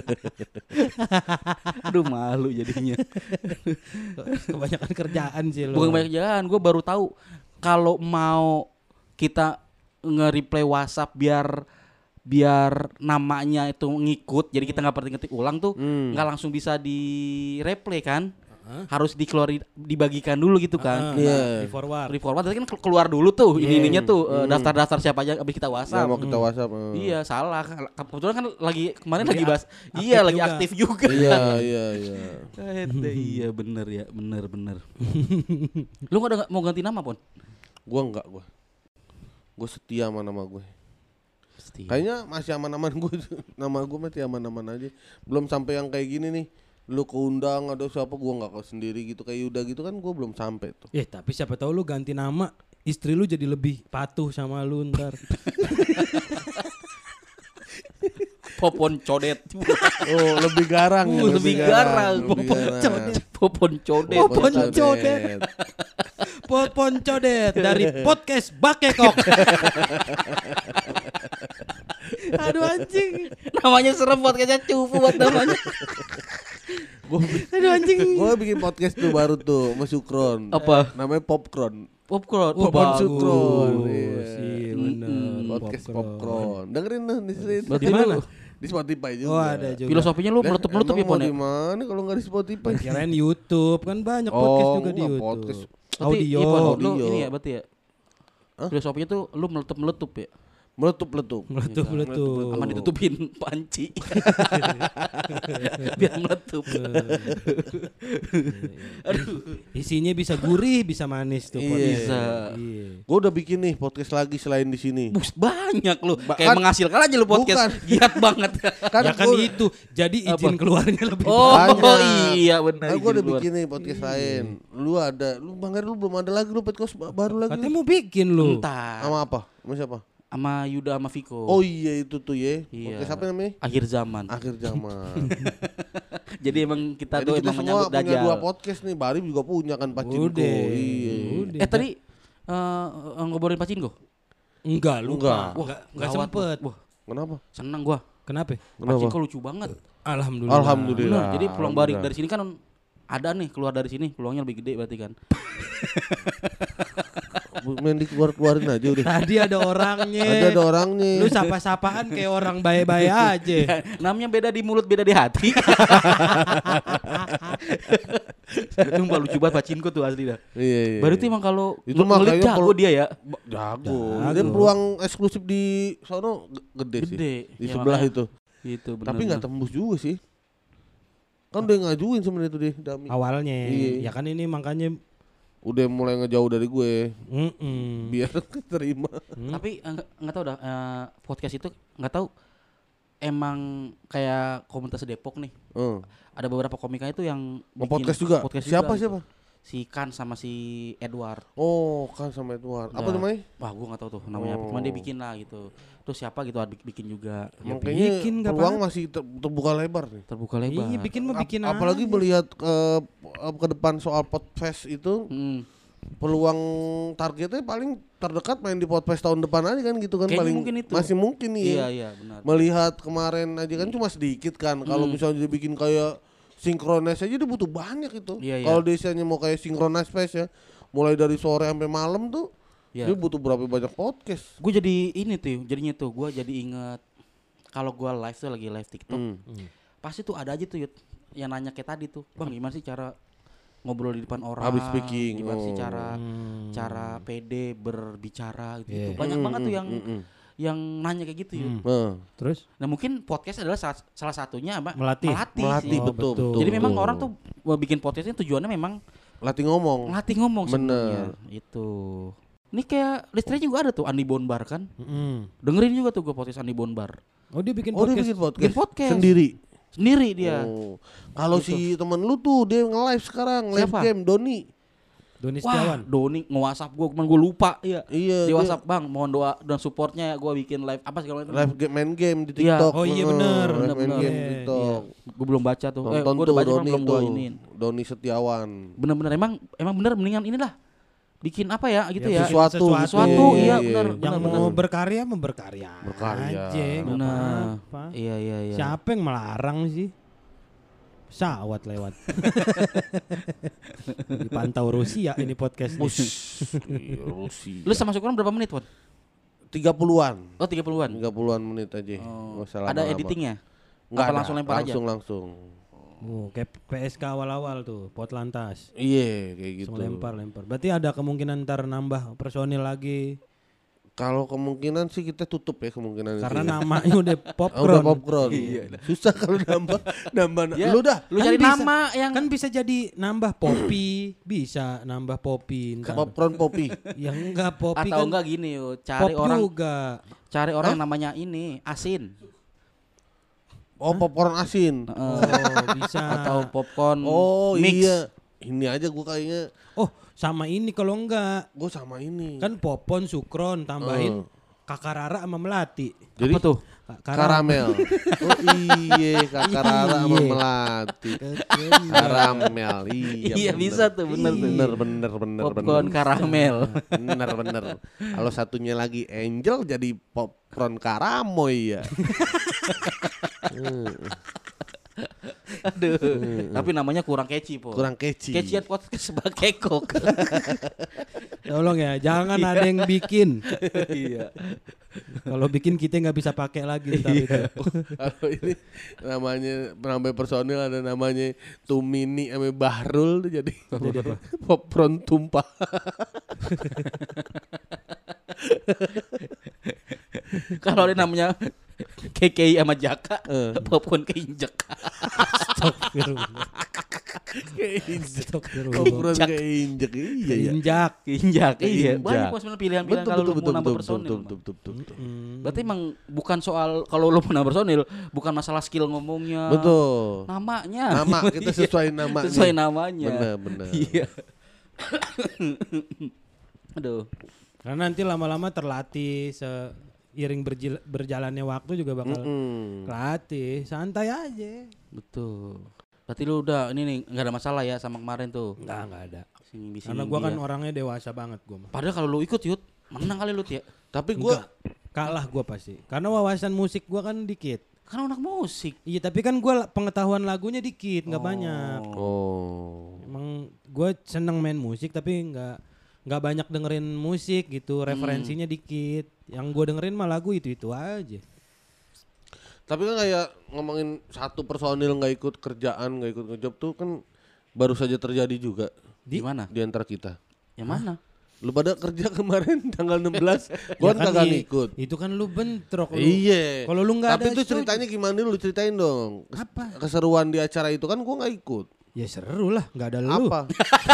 Aduh malu jadinya. Kebanyakan kerjaan sih lo. Bukan banyak jalan, gue baru tahu kalau mau kita nge-reply WhatsApp biar namanya itu ngikut, jadi kita nggak perlu ngetik ulang tuh, nggak langsung bisa di replay kan, harus dibagikan dulu gitu kan. Di forward. Di forward kan keluar dulu tuh ininya tuh daftar-daftar siapa aja abis kita WhatsApp. Ya, mau kita WhatsApp. Iya salah, kebetulan kan kemarin lagi bahas, iya lagi juga. aktif juga. Iya. Iya bener ya, bener. Lu nggak mau ganti nama Pon? Gua enggak, gue setia sama nama gue. Kayaknya masih aman-aman gue. Nama gue masih aman-aman aja. Belum sampai yang kayak gini nih. Lu keundang ada siapa, gue nggak kau sendiri gitu kayak Yuda gitu kan, gue belum sampai tuh. Tapi siapa tahu lu ganti nama, istri lu jadi lebih patuh sama lu ntar. Popon codet. Oh lebih garang. Lebih garang. Popon codet. Popon codet dari podcast Bakekok. Aduh anjing. Namanya serem, podcastnya cupu buat namanya. Aduh anjing. Gue bikin podcast tuh baru tuh sama Sukron. Apa? Namanya Popcorn. Popcorn. Popcorn Sukron. Iya bener. Podcast Popcorn. Dengerin tuh Di mana? Di Spotify juga. Oh ada juga. Filosofinya lu meletup-meletup ya Pon ya? Di mana kalau nggak di Spotify? Kirain YouTube, kan banyak podcast juga di enggak, YouTube. podcast. Audio. Lu ini ya berarti ya. Filosofinya tuh lu meletup-meletup ya. Meletup. Aman ditutupin panci. Biar meletup. Aduh. Isinya bisa gurih, bisa manis tuh. Bisa. Iya. Gue udah bikin nih podcast lagi selain di sini. Bus banyak lu. Kayak Kan- menghasilkan aja lu podcast. Bukan. Giat banget. Ya kan itu. Jadi izin keluarnya lebih Oh banyak. iya benar. Gue udah bikin nih podcast lain. Lu Bang Heri lu belum ada lagi lu podcast baru lagi. Katanya mau bikin lu. Entar. Sama apa? Sama siapa? Sama Yuda sama Viko. Oh iya itu tuh ya. Iya. Podcast apa namanya? Akhir zaman. Akhir zaman. Jadi emang kita Jadi tuh kita emang semua menyambut punya Dajjal. 2 podcast nih. Bari juga punya kan Pacinko. Iya. Tadi ngobrolin Pacinko? Enggak, lupa. Enggak. Enggak sempet. Wah, Kenapa? seneng gua. Kenapa? Pacinko lucu banget. Alhamdulillah. Alhamdulillah. Bener, jadi pulang balik dari sini kan ada nih, keluar dari sini peluangnya lebih gede berarti kan. Main dikeluarin aja udah. Tadi ada orangnya. Ada orangnya. Lu sapa-sapaan kayak orang baik-baik aja. Namanya beda di mulut, beda di hati. Sumpah lucu banget Pacinko tuh asli dah. Iya. Baru tuh emang kalau Itu mah ngelit kayaknya jago dia ya. Jago. Dan peluang eksklusif di sono gede sih. Gede. Di Ya, sebelah makanya. itu. Gitu bener. Tapi nggak tembus juga sih. Kan udah ngajuin sebenarnya itu deh Dami. Awalnya. Iya. Ya kan ini makanya. Udah mulai ngejauh dari gue. Biar keterima. Tapi nggak tahu dah podcast itu nggak tahu emang kayak komunitas Depok nih. Ada beberapa komika itu yang bikin Podcast juga. Siapa? gitu. Si Kan sama si Edward. Oh, Kan sama Edward. Apa Nah, namanya? Wah, gua nggak tahu tuh namanya apa. Cuman dia bikin lah gitu. Terus siapa gitu bikin juga. Emang bikin, kayaknya nggak peluang apa-apa. masih terbuka lebar nih. Terbuka lebar. Iya bikin mah bikin Apalagi aja. melihat ke depan soal Podfest itu, peluang targetnya paling terdekat main di Podfest tahun depan aja kan gitu kan. Kayaknya Paling mungkin itu. masih mungkin nih. Iya, Ya. iya, benar. Melihat kemarin aja kan cuma sedikit kan. Kalau misalnya dia bikin kayak synchronize aja dia butuh banyak itu. Iya, iya. Kalau desanya mau kayak synchronize fest ya, mulai dari sore sampai malam tuh, Iya. dia butuh berapa banyak podcast. Gue jadi ini tuh, jadinya tuh gue jadi inget kalau gue live tuh lagi live TikTok, pasti tuh ada aja tuh Yud, yang nanya kayak tadi tuh, bang gimana sih cara ngobrol di depan orang, Public speaking. gimana sih cara pede berbicara gitu, banyak banget tuh yang nanya kayak gitu Yud. Terus? Nah mungkin podcast adalah salah satunya apa? Melatih. sih. Betul. Jadi memang orang tuh bikin podcastnya tujuannya memang Latih ngomong. ngelatih ngomong Bener. sebenarnya. Itu. Ini kayak listranya juga ada tuh Andi Bonbar kan. Dengerin juga tuh gue podcast Andi Bonbar. Oh dia bikin Oh dia podcast. bikin podcast. Bikin podcast. Sendiri dia. Oh. Kalau si temen lu tuh dia nge-live sekarang, live Siapa? game Doni. Doni Wah, Setiawan. Doni nge-WhatsApp gue, cuman gue lupa. Iya. Iya, Di dia- WhatsApp, Bang, mohon doa dan supportnya gue bikin live apa segala macam. Live game, main game di Iya. TikTok. Oh iya, Heeh, bener. live main Bener-bener. game di Iya, TikTok. Gue belum baca tuh. Nonton Gue tuh udah baca Doni belum gue tuh. iniin. Doni Setiawan. Bener-bener emang bener mendingan inilah. Bikin apa ya gitu Ya, ya. Sesuatu, Sesuatu, gitu. iya bener. Yang mau berkarya berkarya Berkarya. aja, nggak Bener. apa-apa. Iya. Siapa yang melarang sih? Pesawat lewat. Dipantau Rusia ini podcast. Iya, Rusia. Lu sama Syukron berapa menit, Won? 30-an. Oh, 30-an. 30-an menit aja. Oh. Nggak usah Ada lama-lama. editingnya? Nggak Apa ada. langsung lempar aja? Langsung. Kayak PSK awal-awal tuh, Potlantas. Iya, kayak gitu. Langsung lempar. Berarti ada kemungkinan ntar nambah personil lagi. Kalau kemungkinan sih kita tutup ya kemungkinan Karena itu. namanya udah Ah, popcorn. udah popcorn. Susah kalau nambah. Ya, Lu dah. Lu Kan cari bisa- nama yang Kan bisa jadi nambah Poppy, bisa nambah Poppy ntar. Popcorn Poppy. Yang enggak Poppy atau kan enggak gini yuk, pop juga. cari orang yang namanya ini asin. Oh, popcorn asin. Oh, bisa. Atau popcorn Oh mix. iya. Ini aja gua kayaknya Oh, sama ini kalau enggak. gua sama ini. Kan Popon, Sukron, tambahin Kakak Rara sama Melati. Jadi Apa tuh? karamel. Oh iya, Kakak Rara sama Iya. Melati. Karamel. Iya. Iya, bener. bisa tuh, bener tuh. Bener. Popcorn karamel. Bener. Kalau satunya lagi Angel jadi popcorn karamoy ya. Aduh. Tapi namanya kurang catchy, Po. Kurang catchy. Catchy podcast sebagai kok. Tolong ya, jangan ada yang bikin. Iya. Kalau bikin kita nggak bisa pakai lagi ntar itu. Kalau ini namanya penambah personil ada namanya Tumini sama Bahrul tuh jadi popcorn tumpah. Kalau ada namanya KKI sama Jaka, popcorn keinjek. Astagfirullah. Keinjek. Astagfirullah. Popcorn keinjek. Iya ya. Injak. Keinjak. Iya, Keinjak. banyak pos pilihan-pilihan kalau lu mau nambah personil. Betul. Berarti emang bukan soal kalau lu mau nambah personil, bukan masalah skill ngomongnya. Betul. Namanya. Nama kita sesuai namanya. Sesuai namanya. Benar. Iya. Aduh. Karena nanti lama-lama terlatih seiring berjalannya waktu juga bakal latih, santai aja. Betul. Berarti lu udah ini nih nggak ada masalah ya sama kemarin tuh. Nggak ada. Sini Karena gua kan orangnya dewasa banget gua mah. Padahal kalau lu ikut Yud, menang kali lu ya. Tapi gua Kalah gua pasti. Karena wawasan musik gua kan dikit. Kan anak musik. Iya, tapi kan gua pengetahuan lagunya dikit, nggak banyak. Emang gua seneng main musik tapi nggak banyak dengerin musik gitu, referensinya dikit. Yang gua dengerin mah lagu itu aja. Tapi kan kayak ngomongin satu personil nggak ikut kerjaan, nggak ikut ngejob tuh kan baru saja terjadi juga Di mana? di antara kita. Yang mana? Lu pada kerja kemarin tanggal 16, gua Ya kan kagak ngikut. Itu kan lu bentrok lu. Iya. Kalau lu nggak ada Tapi itu show- ceritanya gimana lu ceritain dong. Apa? Keseruan di acara itu kan gua nggak ikut. Ya seru lah, nggak ada lu. Apa?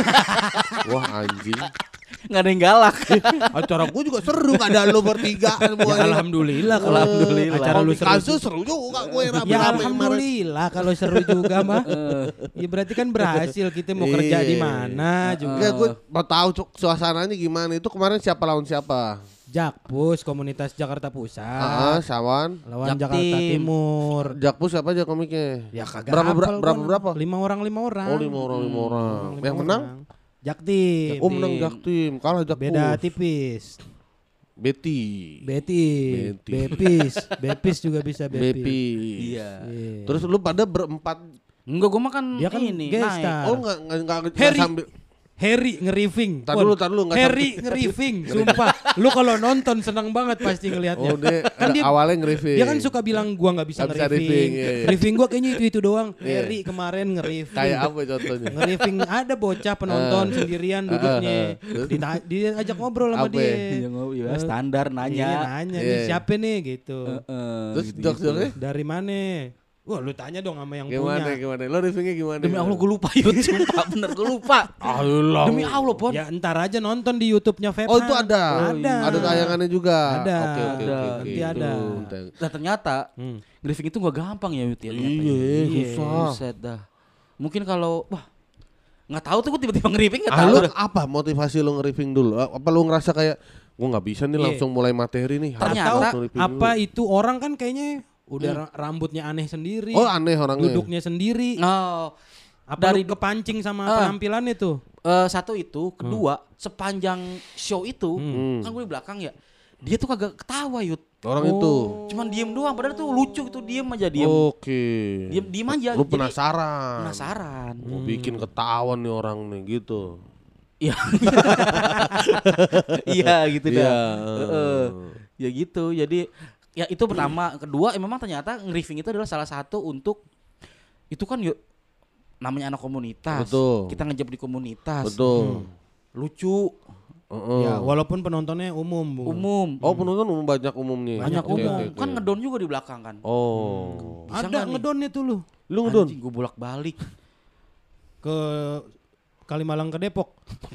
Wah anjing. Nggak ada yang galak. Acara gua juga seru, gak ada lu bertiga Ya, semuanya. alhamdulillah kalau Alhamdulillah. acara lu seru. Kasus seru juga gue rame-rame Ya kemarin. alhamdulillah kalau seru juga mah. Ya berarti kan berhasil, kita mau kerja di Iya. mana juga. Enggak, gue mau tahu suasananya gimana. Itu kemarin siapa lawan siapa? Jakpus komunitas Jakarta Pusat Sawan. lawan Jaktim. Jakarta Timur. Jakpus siapa aja komiknya? Ya kagak Berapa hafal berapa? gua. 5 orang. Oh 5 orang. Yang menang? Jaktim. Oh menang Jaktim. Kalah Jakpus. Beda tipis. Betty. Betty. Bepis juga bisa Bepis. Bepi. Iya. Iya. Terus lu pada berempat. Enggak, gua makan Dia kan ini guest naik. star. Oh enggak Harry. sambil. Harry nge-riffing. Tar dulu, nggak Harry nge-riffing, sumpah. Lu kalau nonton senang banget pasti ngelihatnya. Oh dia, Kan dia- awalnya nge-review. Dia kan suka bilang gua nggak bisa Nggak bisa nge-riffing. riffing, iya, iya. Riffing gua kayaknya itu doang. Iya. Harry kemarin nge-riffing. Kayak apa contohnya? Nge-riffing ada bocah penonton sendirian duduknya. Diajak ngobrol sama Apa dia. ya? Iya, ya, standar Iya, nanya. nanya Iya. nih siapa nih gitu. Terus jokes-jokesnya Dari mana? Wah, lu tanya dong sama yang gimana? punya. Lo riffingnya gimana? Demi Allah gue lupa Yud, sumpah bener gue lupa. Allah. Demi Allah Pon. Ya entar aja nonton di YouTube-nya Febna. Oh itu ada. Ada. Ada tayangannya juga. Ada. Oke. Nanti ada. Nah ternyata briefing itu gak gampang ya Yud ya. ternyata Iya, ya. susah. Buset dah. Mungkin kalau wah Nggak tahu tuh gue tiba-tiba nge-riffing nggak Ah, tahu. lu dah. apa motivasi lu nge-riffing dulu? Apa lu ngerasa kayak gua nggak bisa nih Iya. langsung mulai materi nih. harus Ternyata langsung riffing Apa dulu. itu orang kan kayaknya udah rambutnya aneh sendiri. Oh aneh orangnya. Duduknya sendiri. Oh, Apa dari- lu kepancing sama Ah. penampilannya tuh? satu itu, kedua sepanjang show itu kan gue di belakang ya, dia tuh kagak ketawa Yud, Orang itu. cuman diem doang, padahal tuh lucu itu diem aja Oke. diem aja. Lu Jadi penasaran. penasaran. Mau bikin ketahuan nih orang nih gitu. Iya, iya gitu dah. Iya. Ya gitu, jadi ya itu pertama. Kedua, memang ternyata nge-riffing itu adalah salah satu untuk itu kan yuk namanya anak komunitas. Betul. Kita ngejab di komunitas. Betul. Lucu, Heeh. Ya, walaupun penontonnya umum, Bu. umum. Oh penonton umum banyak umumnya. Banyak Oke, umum. oke, oke. Kan ngedon juga di belakang kan. Oh. Bisa Ada nggak nih? ngedonnya tuh lu Lu ngedon? Gue bolak-balik. ke Kalimalang ke Depok.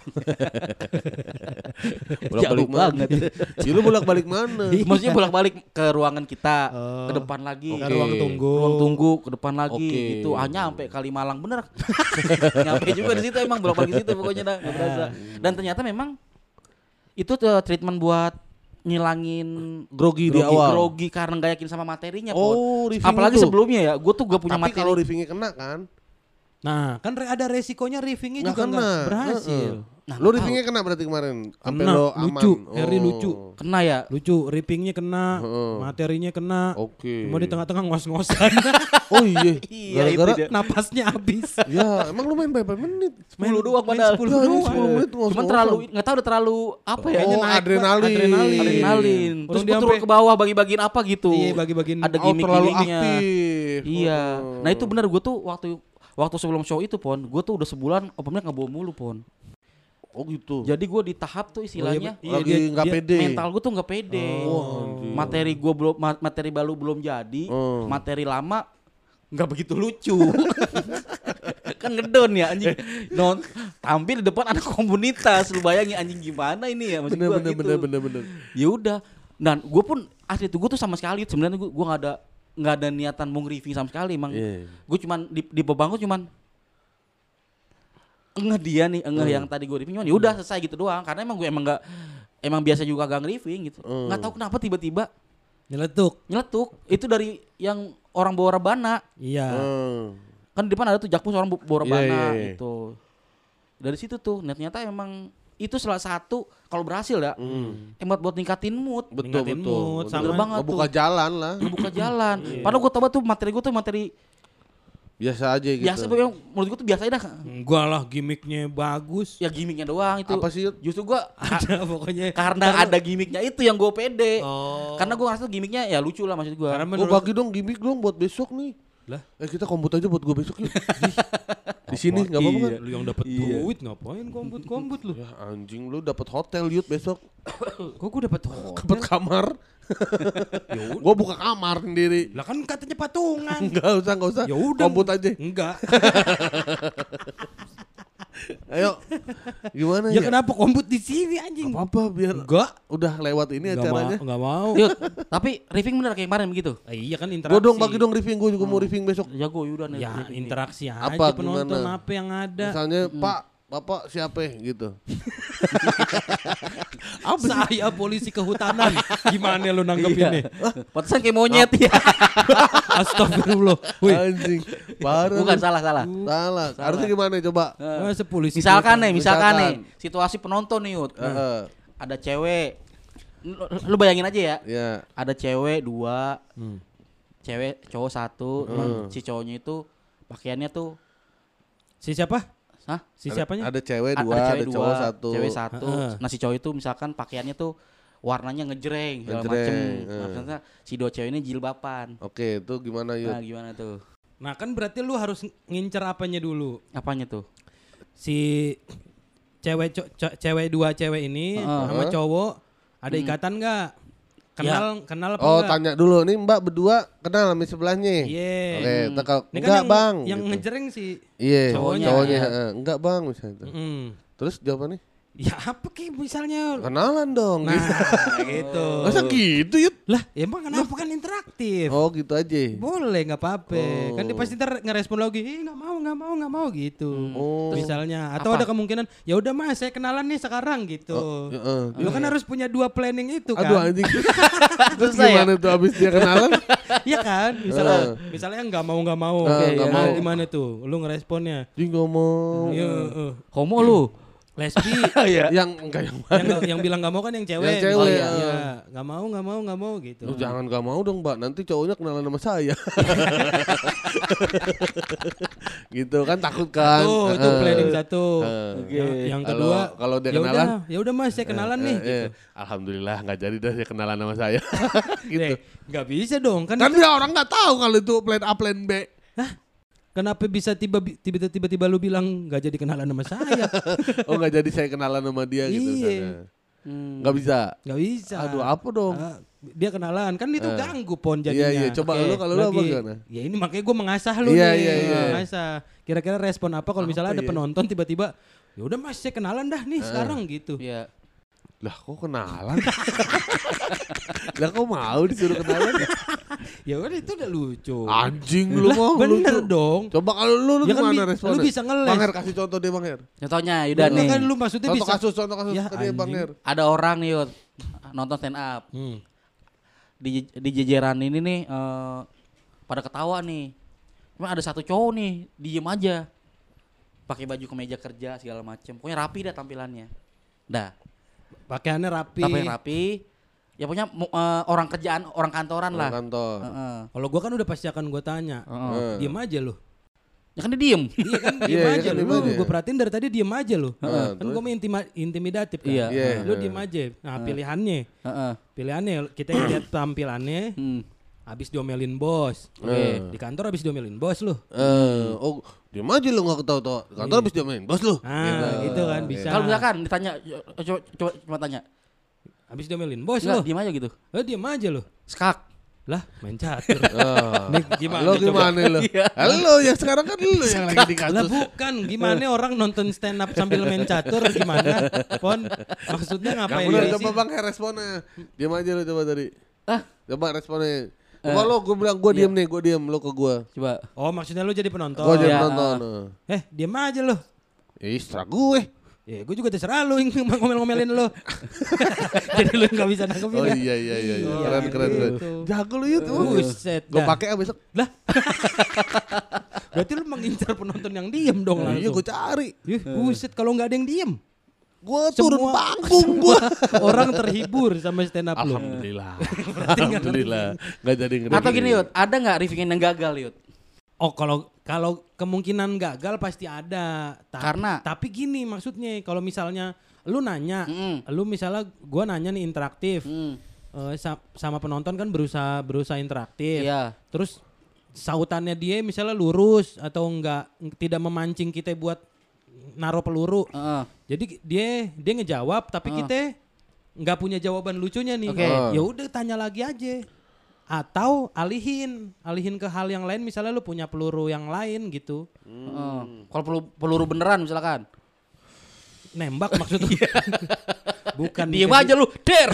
Bolak-balik Jauh banget. Ya, lu bolak-balik mana? Maksudnya bolak-balik ke ruangan kita, ke depan lagi. Ke Oke. ruang tunggu. Ruang tunggu ke depan lagi Oke. gitu. Hanya sampai Kalimalang bener. Nyampe juga di situ emang bolak-balik di situ pokoknya dah, nggak berasa. Dan ternyata memang itu tuh treatment buat ngilangin Grogi di awal. grogi karena nggak yakin sama materinya. Oh, Pon. riffing Apalagi itu. sebelumnya ya, gue tuh gak punya Tapi materi. kalau riffingnya kena kan? Nah, kan ada resikonya riffingnya Nggak juga kena. nggak berhasil. Nah, Lu nggak riffingnya kena berarti kemarin? Sampai Kena, lo aman? lucu. Harry Oh. lucu. kena ya. Lucu, rippingnya kena, Heeh. materinya kena. Oke. Cuma di tengah-tengah ngos-ngosan. Oh iya. Iya, Gara-gara itu dia. Napasnya habis. ya emang lu main berapa menit? 10 doang padahal. 10 Ya, ini doang. 10 menit ngos-ngosan. Cuman terlalu nggak tahu udah terlalu apa ya? Kayaknya Oh, naik, Pak. adrenalin. Adrenalin. Orang Terus dia gue turun sampai- ke bawah bagi-bagiin apa gitu. Iya, bagi-bagiin. Ada Oh, terlalu gimmick-gimmicknya. aktif. Iya. Oh. Nah itu benar gue tuh waktu sebelum show itu Pon, gue tuh udah sebulan open mic nggak bawa mulu Pon. Oh gitu. Jadi gue di tahap tuh istilahnya iya, Lagi nggak pede. mental gue tuh nggak pede. anjing. Materi gue belum materi baru belum jadi, Oh. materi lama nggak begitu lucu. Kan ngedon ya anjing. Tampil di depan anak komunitas, lu bayangin anjing gimana ini ya maksud Bener gua bener gitu. bener. Ya udah. Dan gue pun asli tuh gue tuh sama sekali sebenarnya gue nggak ada niatan mau nge-review sama sekali emang. Iya. Gue cuman di bebang gue cuman engeh dia nih, yang tadi gue review cuman ya udah selesai gitu doang karena emang gue emang biasa juga gak nge-review gitu. Nggak tahu kenapa tiba-tiba Nyeletuk. nyeletuk. Itu dari yang orang bawa rebana. Iya. Kan di depan ada tuh jakpus orang bawa rebana Iya, iya. gitu. Dari situ tuh ternyata emang itu salah satu kalau berhasil ya hemat buat ningkatin mood. Betul Ningkatin betul. mood, Bener. sama- banget Ngebuka tuh. jalan lah. Ngebuka jalan. Padahal gue tahu tuh materi gue tuh materi Biasa aja gitu. biasa, menurut gue tuh biasa aja dah. Enggak lah, gimmicknya bagus. Ya gimmicknya doang itu. Apa sih? Yud? Justru gue Ada pokoknya. karena ada gimmicknya itu yang gue pede. Oh. Karena gue ngerasa gimmicknya ya lucu lah maksud gue. Karena Gue menurut bagi dong gimmick dong buat besok nih. Lah? Kita komput aja buat gue besok yuk. Di sini nggak apa-apa kan? Lu yang dapat duit ngapain kombut lu? Ya anjing lu dapat hotel yut besok. Kok gue dapat Dapat kamar. Gue buka kamar sendiri. Lah kan katanya patungan. Enggak usah. Ya udah. Komput aja. Enggak. Ayo. Gimana Ya ya? kenapa kombut di sini anjing? Apa biar Enggak. udah lewat ini acaranya. Enggak mau. Yuk, tapi riffing bener kayak kemarin begitu. Iya kan interaksi. Gue dong bagi dong riffing, gue juga mau riffing besok. Jago Yudan Ya interaksi aja Apa, penonton gimana? apa yang ada. Misalnya Pak, Bapak siapa gitu. Saya polisi kehutanan. Gimana lu nanggepinnya? Pantesan kayak monyet ya. Astagfirullah. Wih. Anjing. Baru. Bukan salah. Salah. Harusnya gimana coba? Masa polisi Misalkan nih, Misalkan. situasi penonton nih, Yud. Heeh. Ada cewek. Lu bayangin aja ya. Ya. Ada cewek 2, cewek cowok 1, cuman si cowoknya itu pakaiannya tuh Si siapa? hah? Si siapanya? Ada cewek A- 2, ada cewek cowok 1. Cewek 1. Heeh. Nah si cowok itu misalkan pakaiannya tuh warnanya ngejreng segala Ngejreng, macem. heeh. Maksudnya si dua cewek ini jilbaban. Oke, itu gimana yuk? Nah gimana tuh? Nah kan berarti lu harus ngincer apanya dulu. Apanya tuh? Si cewek 2 cewek ini sama cowok ada ikatan nggak? Kenal apa Oh, enggak? tanya dulu. Nih Mbak berdua kenal sama sebelahnya? Iya. Oke, tekal. Ini kan Enggak, yang, Bang. yang gitu. ngejreng sih. Iya, Cowoknya. cowoknya. Iya. Enggak, Bang misalnya. Mm. Terus jawabannya? Ya apa Ki misalnya? Kenalan dong. Nah gitu. Masa gitu Yud? Lah emang kenapa kan interaktif? Oh gitu aja. Boleh nggak apa-apa. Oh. Kan dia pasti ntar ngerespon lagi, nggak mau gitu. Oh. Misalnya atau Apa? ada kemungkinan ya udah Mas saya kenalan nih sekarang gitu. Lu kan harus punya 2 planning itu kan. Aduh anjing. Terus Susah ya? gimana tuh abis dia kenalan? Iya kan? Misalnya nggak mau. Nggak Nah, mau. gimana tuh? Lu ngeresponnya? Dia ngomong. Iya, Homo lu. lesbi. Yang enggak yang mana? yang bilang nggak mau kan yang cewek. Yang cewek, Oh, iya. ah. Iya. Nggak mau gitu. Lu jangan gak mau dong Mbak, nanti cowoknya kenalan sama saya. Gitu kan takut kan. Tuh, itu planning satu. Oke. Yang kedua, kalau dia ya kenalan, udah, ya udah Mas, saya kenalan nih gitu. Alhamdulillah nggak jadi dah dia kenalan sama saya. Gitu. Nggak bisa dong kan. Kan dia orang nggak tahu kalau itu plan A plan B. Kenapa bisa tiba-tiba lu bilang nggak jadi kenalan sama saya? Oh nggak jadi saya kenalan sama dia gitu. Iya. misalnya. Nggak bisa. Nggak bisa. Aduh apa dong? Dia kenalan kan itu ganggu pon jadinya. Iya, coba lu kalau lu apa gimana? Ya ini makanya gue mengasah lu Iya, nih. iya. Mengasah. Kira-kira respon apa kalau misalnya ada penonton tiba-tiba ya udah Mas saya kenalan dah nih sekarang gitu. Iya. Lah kok kenalan? Lah kok mau disuruh kenalan? Ya udah itu udah lucu. Anjing lu Lah, mau bener lu. dong. Coba kalau lu Ya kan gimana lu responnya? bisa ngeles. Bang Her kasih contoh deh Bang Her. Contohnya Yuda Lu nih. kan lu maksudnya Contoh bisa. kasus Ya, ke dia Bang anjing. Her. Ada orang nih Yud, nonton stand up. Di jejeran ini nih pada ketawa nih. Cuma ada satu cowok nih diem aja. Pakai baju kemeja kerja segala macem. Pokoknya rapi dah tampilannya. Dah. Pakaiannya rapi. Tapi rapi. Ya pokoknya orang kerjaan, orang kantoran lah. Kantor. Heeh. Kalau gua kan udah pasti akan gua tanya. Diem aja lu. Ya kan dia diem. Iya kan diem Iya, aja kan lu. diem aja. Gue perhatiin dari tadi diem aja lu. Kan terus? gue intimidatif kan. Iya. Iya. Lu diem aja. Nah pilihannya. Heeh. Pilihannya kita lihat tampilannya. Habis diomelin bos. Di kantor habis diomelin bos lu. Oh, diam aja lu enggak ketawa-tawa. Kantor habis dia main, bos lu. Nah gitu kan bisa. Kalau misalkan ditanya, coba tanya. Habis diomelin bos Enggak, lu. diem aja gitu. Diem aja lu. Skak. Lah main catur. Ah. Nih gimana Lo coba? gimana lo? Halo ya sekarang kan lu yang lagi di Lah kasus. bukan, gimana orang nonton stand up sambil main catur gimana? Pon, maksudnya Yang ngapain bener ya coba sih? Bang Her responnya. Diam aja lu coba tadi. Ah, Coba responnya. Coba lo gue bilang gue diem nih, gue diem lo ke gue. coba. Oh maksudnya lu jadi penonton? Gue jadi Iya. nonton. Diem aja lu. Serah gue. Ya gue juga terserah lu yang ngomel-ngomelin lu. Jadi lu gak bisa nangkepin Oh ya? iya. Iya, Keren. gitu. Jago lu itu. Buset Gue dah. pakai besok. Lah. Berarti lu mengincar penonton yang diem dong langsung. Iya gue cari. Buset kalau gak ada yang diem. Gue turun Semua- panggung gue. Orang terhibur sama stand up lu. Alhamdulillah. Gak jadi ngeri. Atau gini Yud, ada nggak riffing yang gagal Yud? Oh kalau kemungkinan gagal pasti ada. Karena? Tapi gini maksudnya kalau misalnya lu nanya, lu misalnya gua nanya nih interaktif. Sama penonton kan berusaha interaktif. Iya. Terus sautannya dia misalnya lurus atau enggak tidak memancing kita buat naruh peluru. Heeh. Jadi dia ngejawab tapi kita nggak punya jawaban lucunya nih. Oke. Ya udah tanya lagi aja. Atau alihin ke hal yang lain misalnya lu punya peluru yang lain gitu. Kalau peluru beneran misalkan. Nembak maksudnya. Bukan. Diem aja lu, der.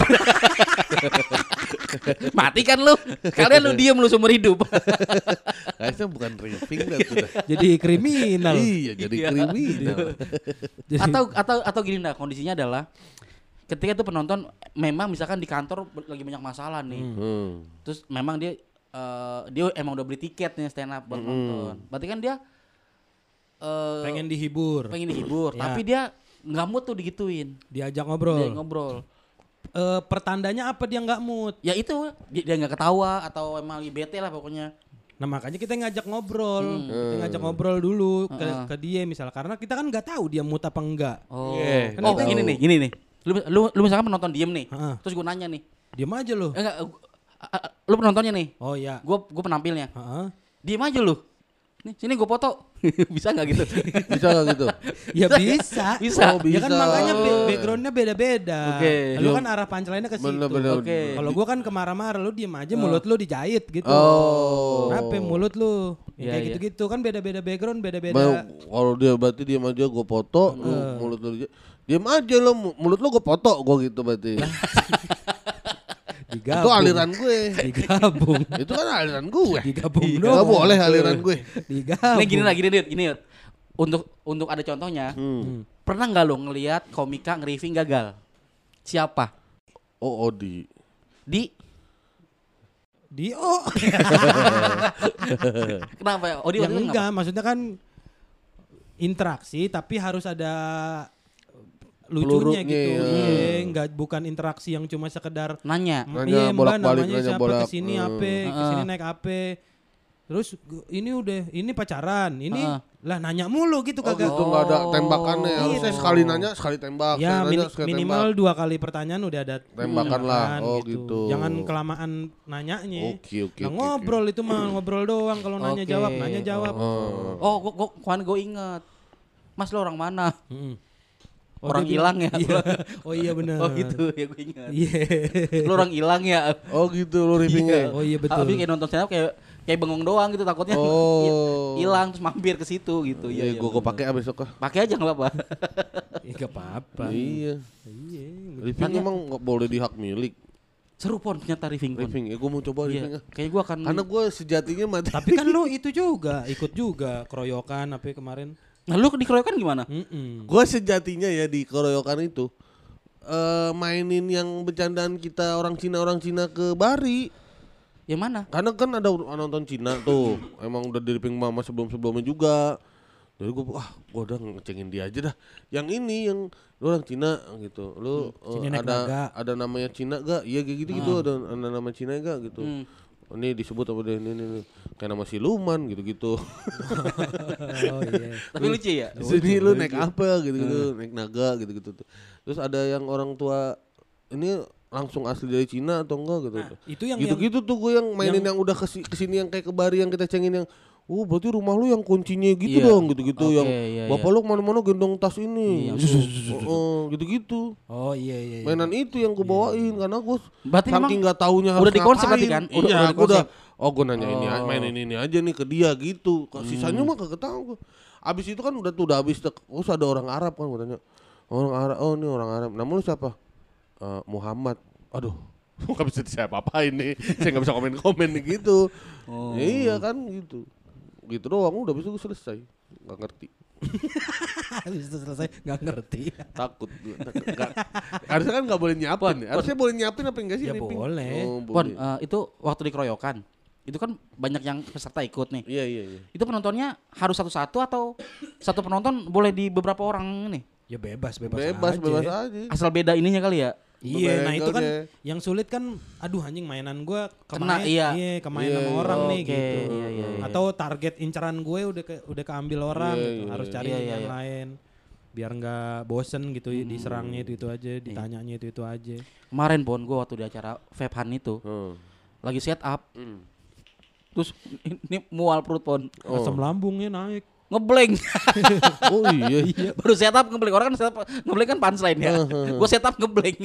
Mati kan lu. Kalian lu diem lu seumur hidup. Kayaknya bukan riffing dah tuh dah. Jadi kriminal. Iya jadi kriminal. Jadi- atau gini nah, kondisinya adalah ketika itu penonton memang misalkan di kantor lagi banyak masalah nih. Terus memang dia emang udah beli tiket nih stand up buat nonton. Berarti kan dia pengen dihibur. pengen dihibur, Ya. tapi dia nggak mood tuh digituin. Diajak Dia ngobrol. ngobrol. Pertandanya apa dia nggak mood? Ya itu dia nggak ketawa atau emang lagi bete lah pokoknya. Nah makanya kita ngajak ngobrol, kita ngajak ngobrol dulu ke dia misal karena kita kan nggak tahu dia mood apa enggak. Oh, Iya, oh kan gini nih. Lu misalkan penonton diem nih, Heeh. terus gue nanya nih, Diam aja lu. enggak, lu penontonnya nih, Oh iya. gue penampilnya, Heeh. diem aja lu. Nih sini gue foto, bisa nggak gitu? Bisa gak gitu? Ya bisa. Bisa. Oh, Ya kan bisa. makanya backgroundnya beda-beda. Oke. Lu kan arah punchline-nya ke situ. Bener-bener. Oke. Kalau gua kan kemarah-marah lu diem aja mulut lu dijahit gitu. Oh. Kenapa mulut lu? Iya, Kayak iya. gitu-gitu kan beda-beda background, beda-beda. Kalau dia berarti diam aja gue foto, lu mulut lu Diam aja lo, mulut lo gue foto gue gitu berarti. Digabung. Itu aliran gue. Digabung. Itu kan aliran gue. Digabung Gak doang. boleh aliran gue. Digabung. Nih gini Yud. Untuk ada contohnya. Pernah nggak lo ngelihat komika nge-riffing gagal? Siapa? Oh, Odi. Dio. Kenapa ya? Odi Yang waktu itu enggak, maksudnya kan interaksi tapi harus ada lucunya Peluruknya, gitu. ya. Iya, enggak bukan interaksi yang cuma sekedar nanya. Nanya iya, Mbak, bolak-balik, namanya nanya siapa bolak. kesini apa, kesini naik apa. Terus ini pacaran, ini lah nanya mulu gitu Oh kagak. gitu nggak ada tembakannya. Harusnya sekali nanya sekali tembak. Ya sekali nanya, sekali minimal tembak. 2 kali pertanyaan udah ada Tembakan lah. Oh gitu. gitu. Jangan kelamaan nanyanya. Oke. Nah, ngobrol itu mah ngobrol doang, kalau nanya Oke. jawab. Oh, gue inget. Mas lo orang mana? Orang dia hilang ya? Iya. Oh iya benar. Oh gitu ya gue ingat. Iya. Lo orang hilang ya? Oh gitu lo riffingnya. Oh iya betul. Tapi kayak nonton stand up kayak bengong doang gitu, takutnya Oh. hilang terus mampir ke situ gitu. Iya, gue pakai besok kah? Pakai aja nggak apa-apa. Enggak apa-apa. Iya. Iya. Riffing emang nggak boleh di hak milik. Seru pon ternyata riffing pon. Riffing, gue mau coba riffing. Iya. Kayak gue akan. Karena gue sejatinya mati. Tapi kan lu itu juga ikut juga keroyokan apa kemarin. Nah lu dikeroyokan gimana? Gue sejatinya ya di keroyokan itu mainin yang bercandaan kita orang Cina ke Bari. Yang mana? Karena kan ada nonton Cina tuh. Emang udah di ripping mama sebelumnya juga. Jadi gue gue udah ngecengin dia aja dah. Yang ini yang lu orang Cina gitu. Lu ada namanya Cina gak? Iya kayak gitu ada nama Cina gak gitu. Ini disebut apa deh ini kayak nama siluman gitu-gitu. Oh iya. Tapi lucu ya? Sini lu naik apa gitu-gitu, naik naga gitu-gitu. Terus ada yang orang tua ini langsung asli dari Cina atau enggak gitu. Nah, itu yang gitu-gitu tuh gue yang mainin yang udah kesini yang kayak ke Bari yang kita cengin yang berarti rumah lu yang kuncinya gitu dong gitu-gitu yang bapak lu kemana-mana gendong tas ini gitu-gitu. Oh iya. Mainan itu yang gue bawain karena gue Berarti saking nggak taunya harus udah dikonsep berarti ngapain. kan? Iya, Udah dikonsep. gue nanya ini mainin ini aja nih ke dia gitu. Sisanya mah kagak tahu gue. Abis itu kan udah habis terus ada orang Arab kan gue tanya. Orang Arab, oh ini orang Arab. Nama lu siapa? Muhammad. Aduh. Gak bisa siapa-apain nih. Saya gak bisa komen-komen nih gitu. Iya kan gitu. Gitu doang udah bisa gue selesai. Gak ngerti. Habis itu selesai nggak ngerti. Takut. Harusnya kan gak boleh nyiapin. Harusnya boleh nyiapin apa enggak sih? Ya ripping? boleh. Pon, itu waktu dikeroyokan. Itu kan banyak yang peserta ikut nih. Iya. Itu penontonnya harus satu-satu atau satu penonton boleh di beberapa orang nih? Ya bebas Bebas aja. Asal beda ininya kali ya. Iya, nah itu kan Angle-nya. yang sulit kan, aduh anjing mainan gue Kena, kemain, iya. kemain Iya, sama iya. orang nih Oke, gitu. iya. Atau target incaran gue udah keambil orang, Iya, gitu. iya, Harus iya. cari Iya, yang iya. lain, biar nggak bosen gitu, diserangnya itu aja, ditanyanya itu aja. Kemarin Pon, gue waktu di acara Vape itu lagi set up, terus ini mual perut Pon, Asam lambungnya naik. ngeblank. Oh iya. Baru set up ngeblank, orang kan set up ngeblank kan punchline ya. Gue set up ngeblank.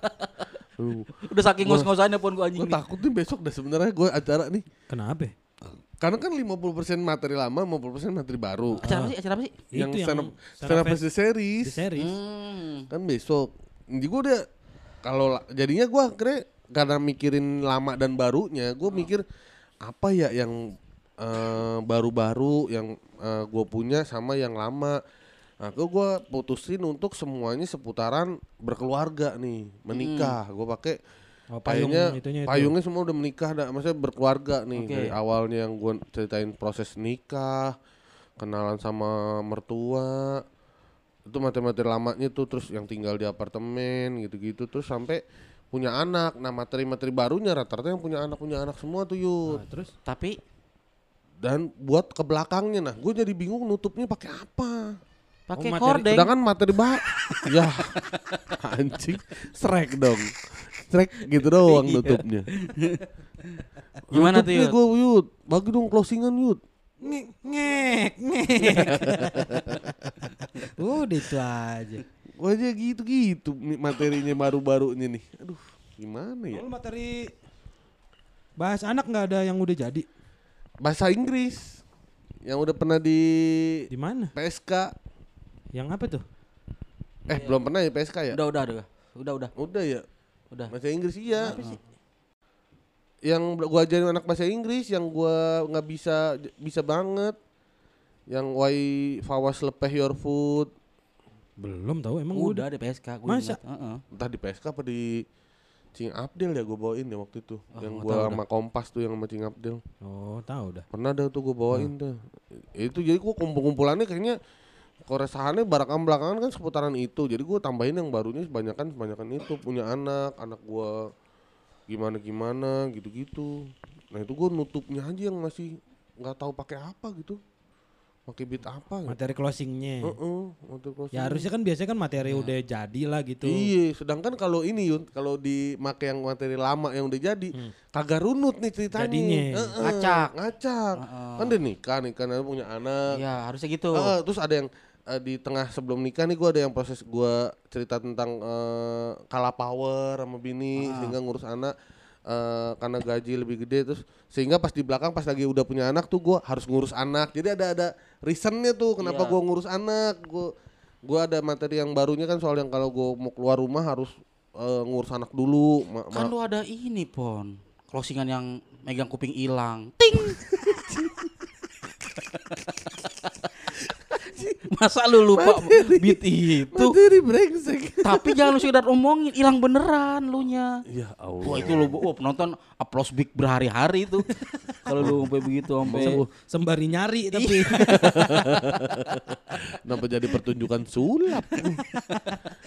Udah saking ngos-ngosannya Pon gue anjing. Gue takut nih besok dah sebenarnya gue acara nih. Kenapa? Karena kan 50% materi lama, 50% materi baru. Acara apa sih? Yang Itu stand up di series. series. Kan besok. Jadi gue udah jadinya gue akhirnya karena mikirin lama dan barunya, gue mikir apa ya yang baru-baru yang gue punya sama yang lama. Nah, gue putusin untuk semuanya seputaran berkeluarga nih, menikah. Gue pakai payungnya semua udah menikah, maksudnya berkeluarga nih. Dari awalnya yang gue ceritain proses nikah, kenalan sama mertua, itu materi-materi lamanya tuh, terus yang tinggal di apartemen gitu-gitu, terus sampai punya anak. Nah materi-materi barunya rata-rata yang punya anak semua tuh Yud. Nah, terus Tapi dan buat ke belakangnya, nah gue jadi bingung nutupnya pakai apa. pakai materi- kordeng. Sedangkan materi ya anjing, Shrek dong. Shrek gitu doang nutupnya. Gimana tuh Yud? Gue Yud, bagi dong closingan Yud. ngek. Udah itu aja. Gue aja gitu materinya baru-barunya nih. Aduh, gimana ya? Kalau materi bahas anak nggak ada yang udah jadi? Bahasa Inggris yang udah pernah di Di mana? PSK. Yang apa tuh? Belum pernah ya PSK ya? Udah. Udah ya? Udah. Bahasa Inggris iya. Yang gua ajarin anak bahasa Inggris yang gua nggak bisa banget. Yang why fawas lepeh your food. Belum tahu emang Udah di PSK gua. Masa? Entah di PSK apa di Cing Abdel ya gua bawain ya waktu itu. Yang gua tahu sama Kompas tuh yang sama Cing Abdel. Oh, tahu dah. Pernah dah tuh gua bawain tuh. Itu jadi gua kumpul-kumpulannya kayaknya keresahannya belakangan kan seputaran itu. Jadi gua tambahin yang barunya sebanyakan itu punya anak gua gimana gitu-gitu. Nah itu gua nutupnya aja yang masih nggak tahu pakai apa gitu. Pakai beat apa gitu. Materi closingnya. Materi closing. Ya harusnya kan biasanya kan materi udah jadi lah gitu. Iya, sedangkan kalau ini Yun, kalau dimakai yang materi lama yang udah jadi, kagak runut nih ceritanya. Jadinya. Ngacak. Kan udah nikah punya anak. Ya harusnya gitu. Terus ada yang di tengah sebelum nikah nih gue ada yang proses gue cerita tentang kalah power sama bini sehingga ngurus anak karena gaji lebih gede terus sehingga pas di belakang pas lagi udah punya anak tuh gue harus ngurus anak jadi ada reasonnya tuh kenapa gue ngurus anak gue ada materi yang barunya kan soal yang kalau gue mau keluar rumah harus ngurus anak dulu Kan lu ada ini Pon closingan yang megang kuping hilang ting. Masa lu lupa beat itu? Materi brengsek. Tapi jangan lu sekedar omongin, hilang beneran lu nya. Ya Allah. Wah itu lu penonton applause big berhari-hari itu. Kalau lu sampai begitu sampai Sembari nyari tapi. Kenapa jadi pertunjukan sulap?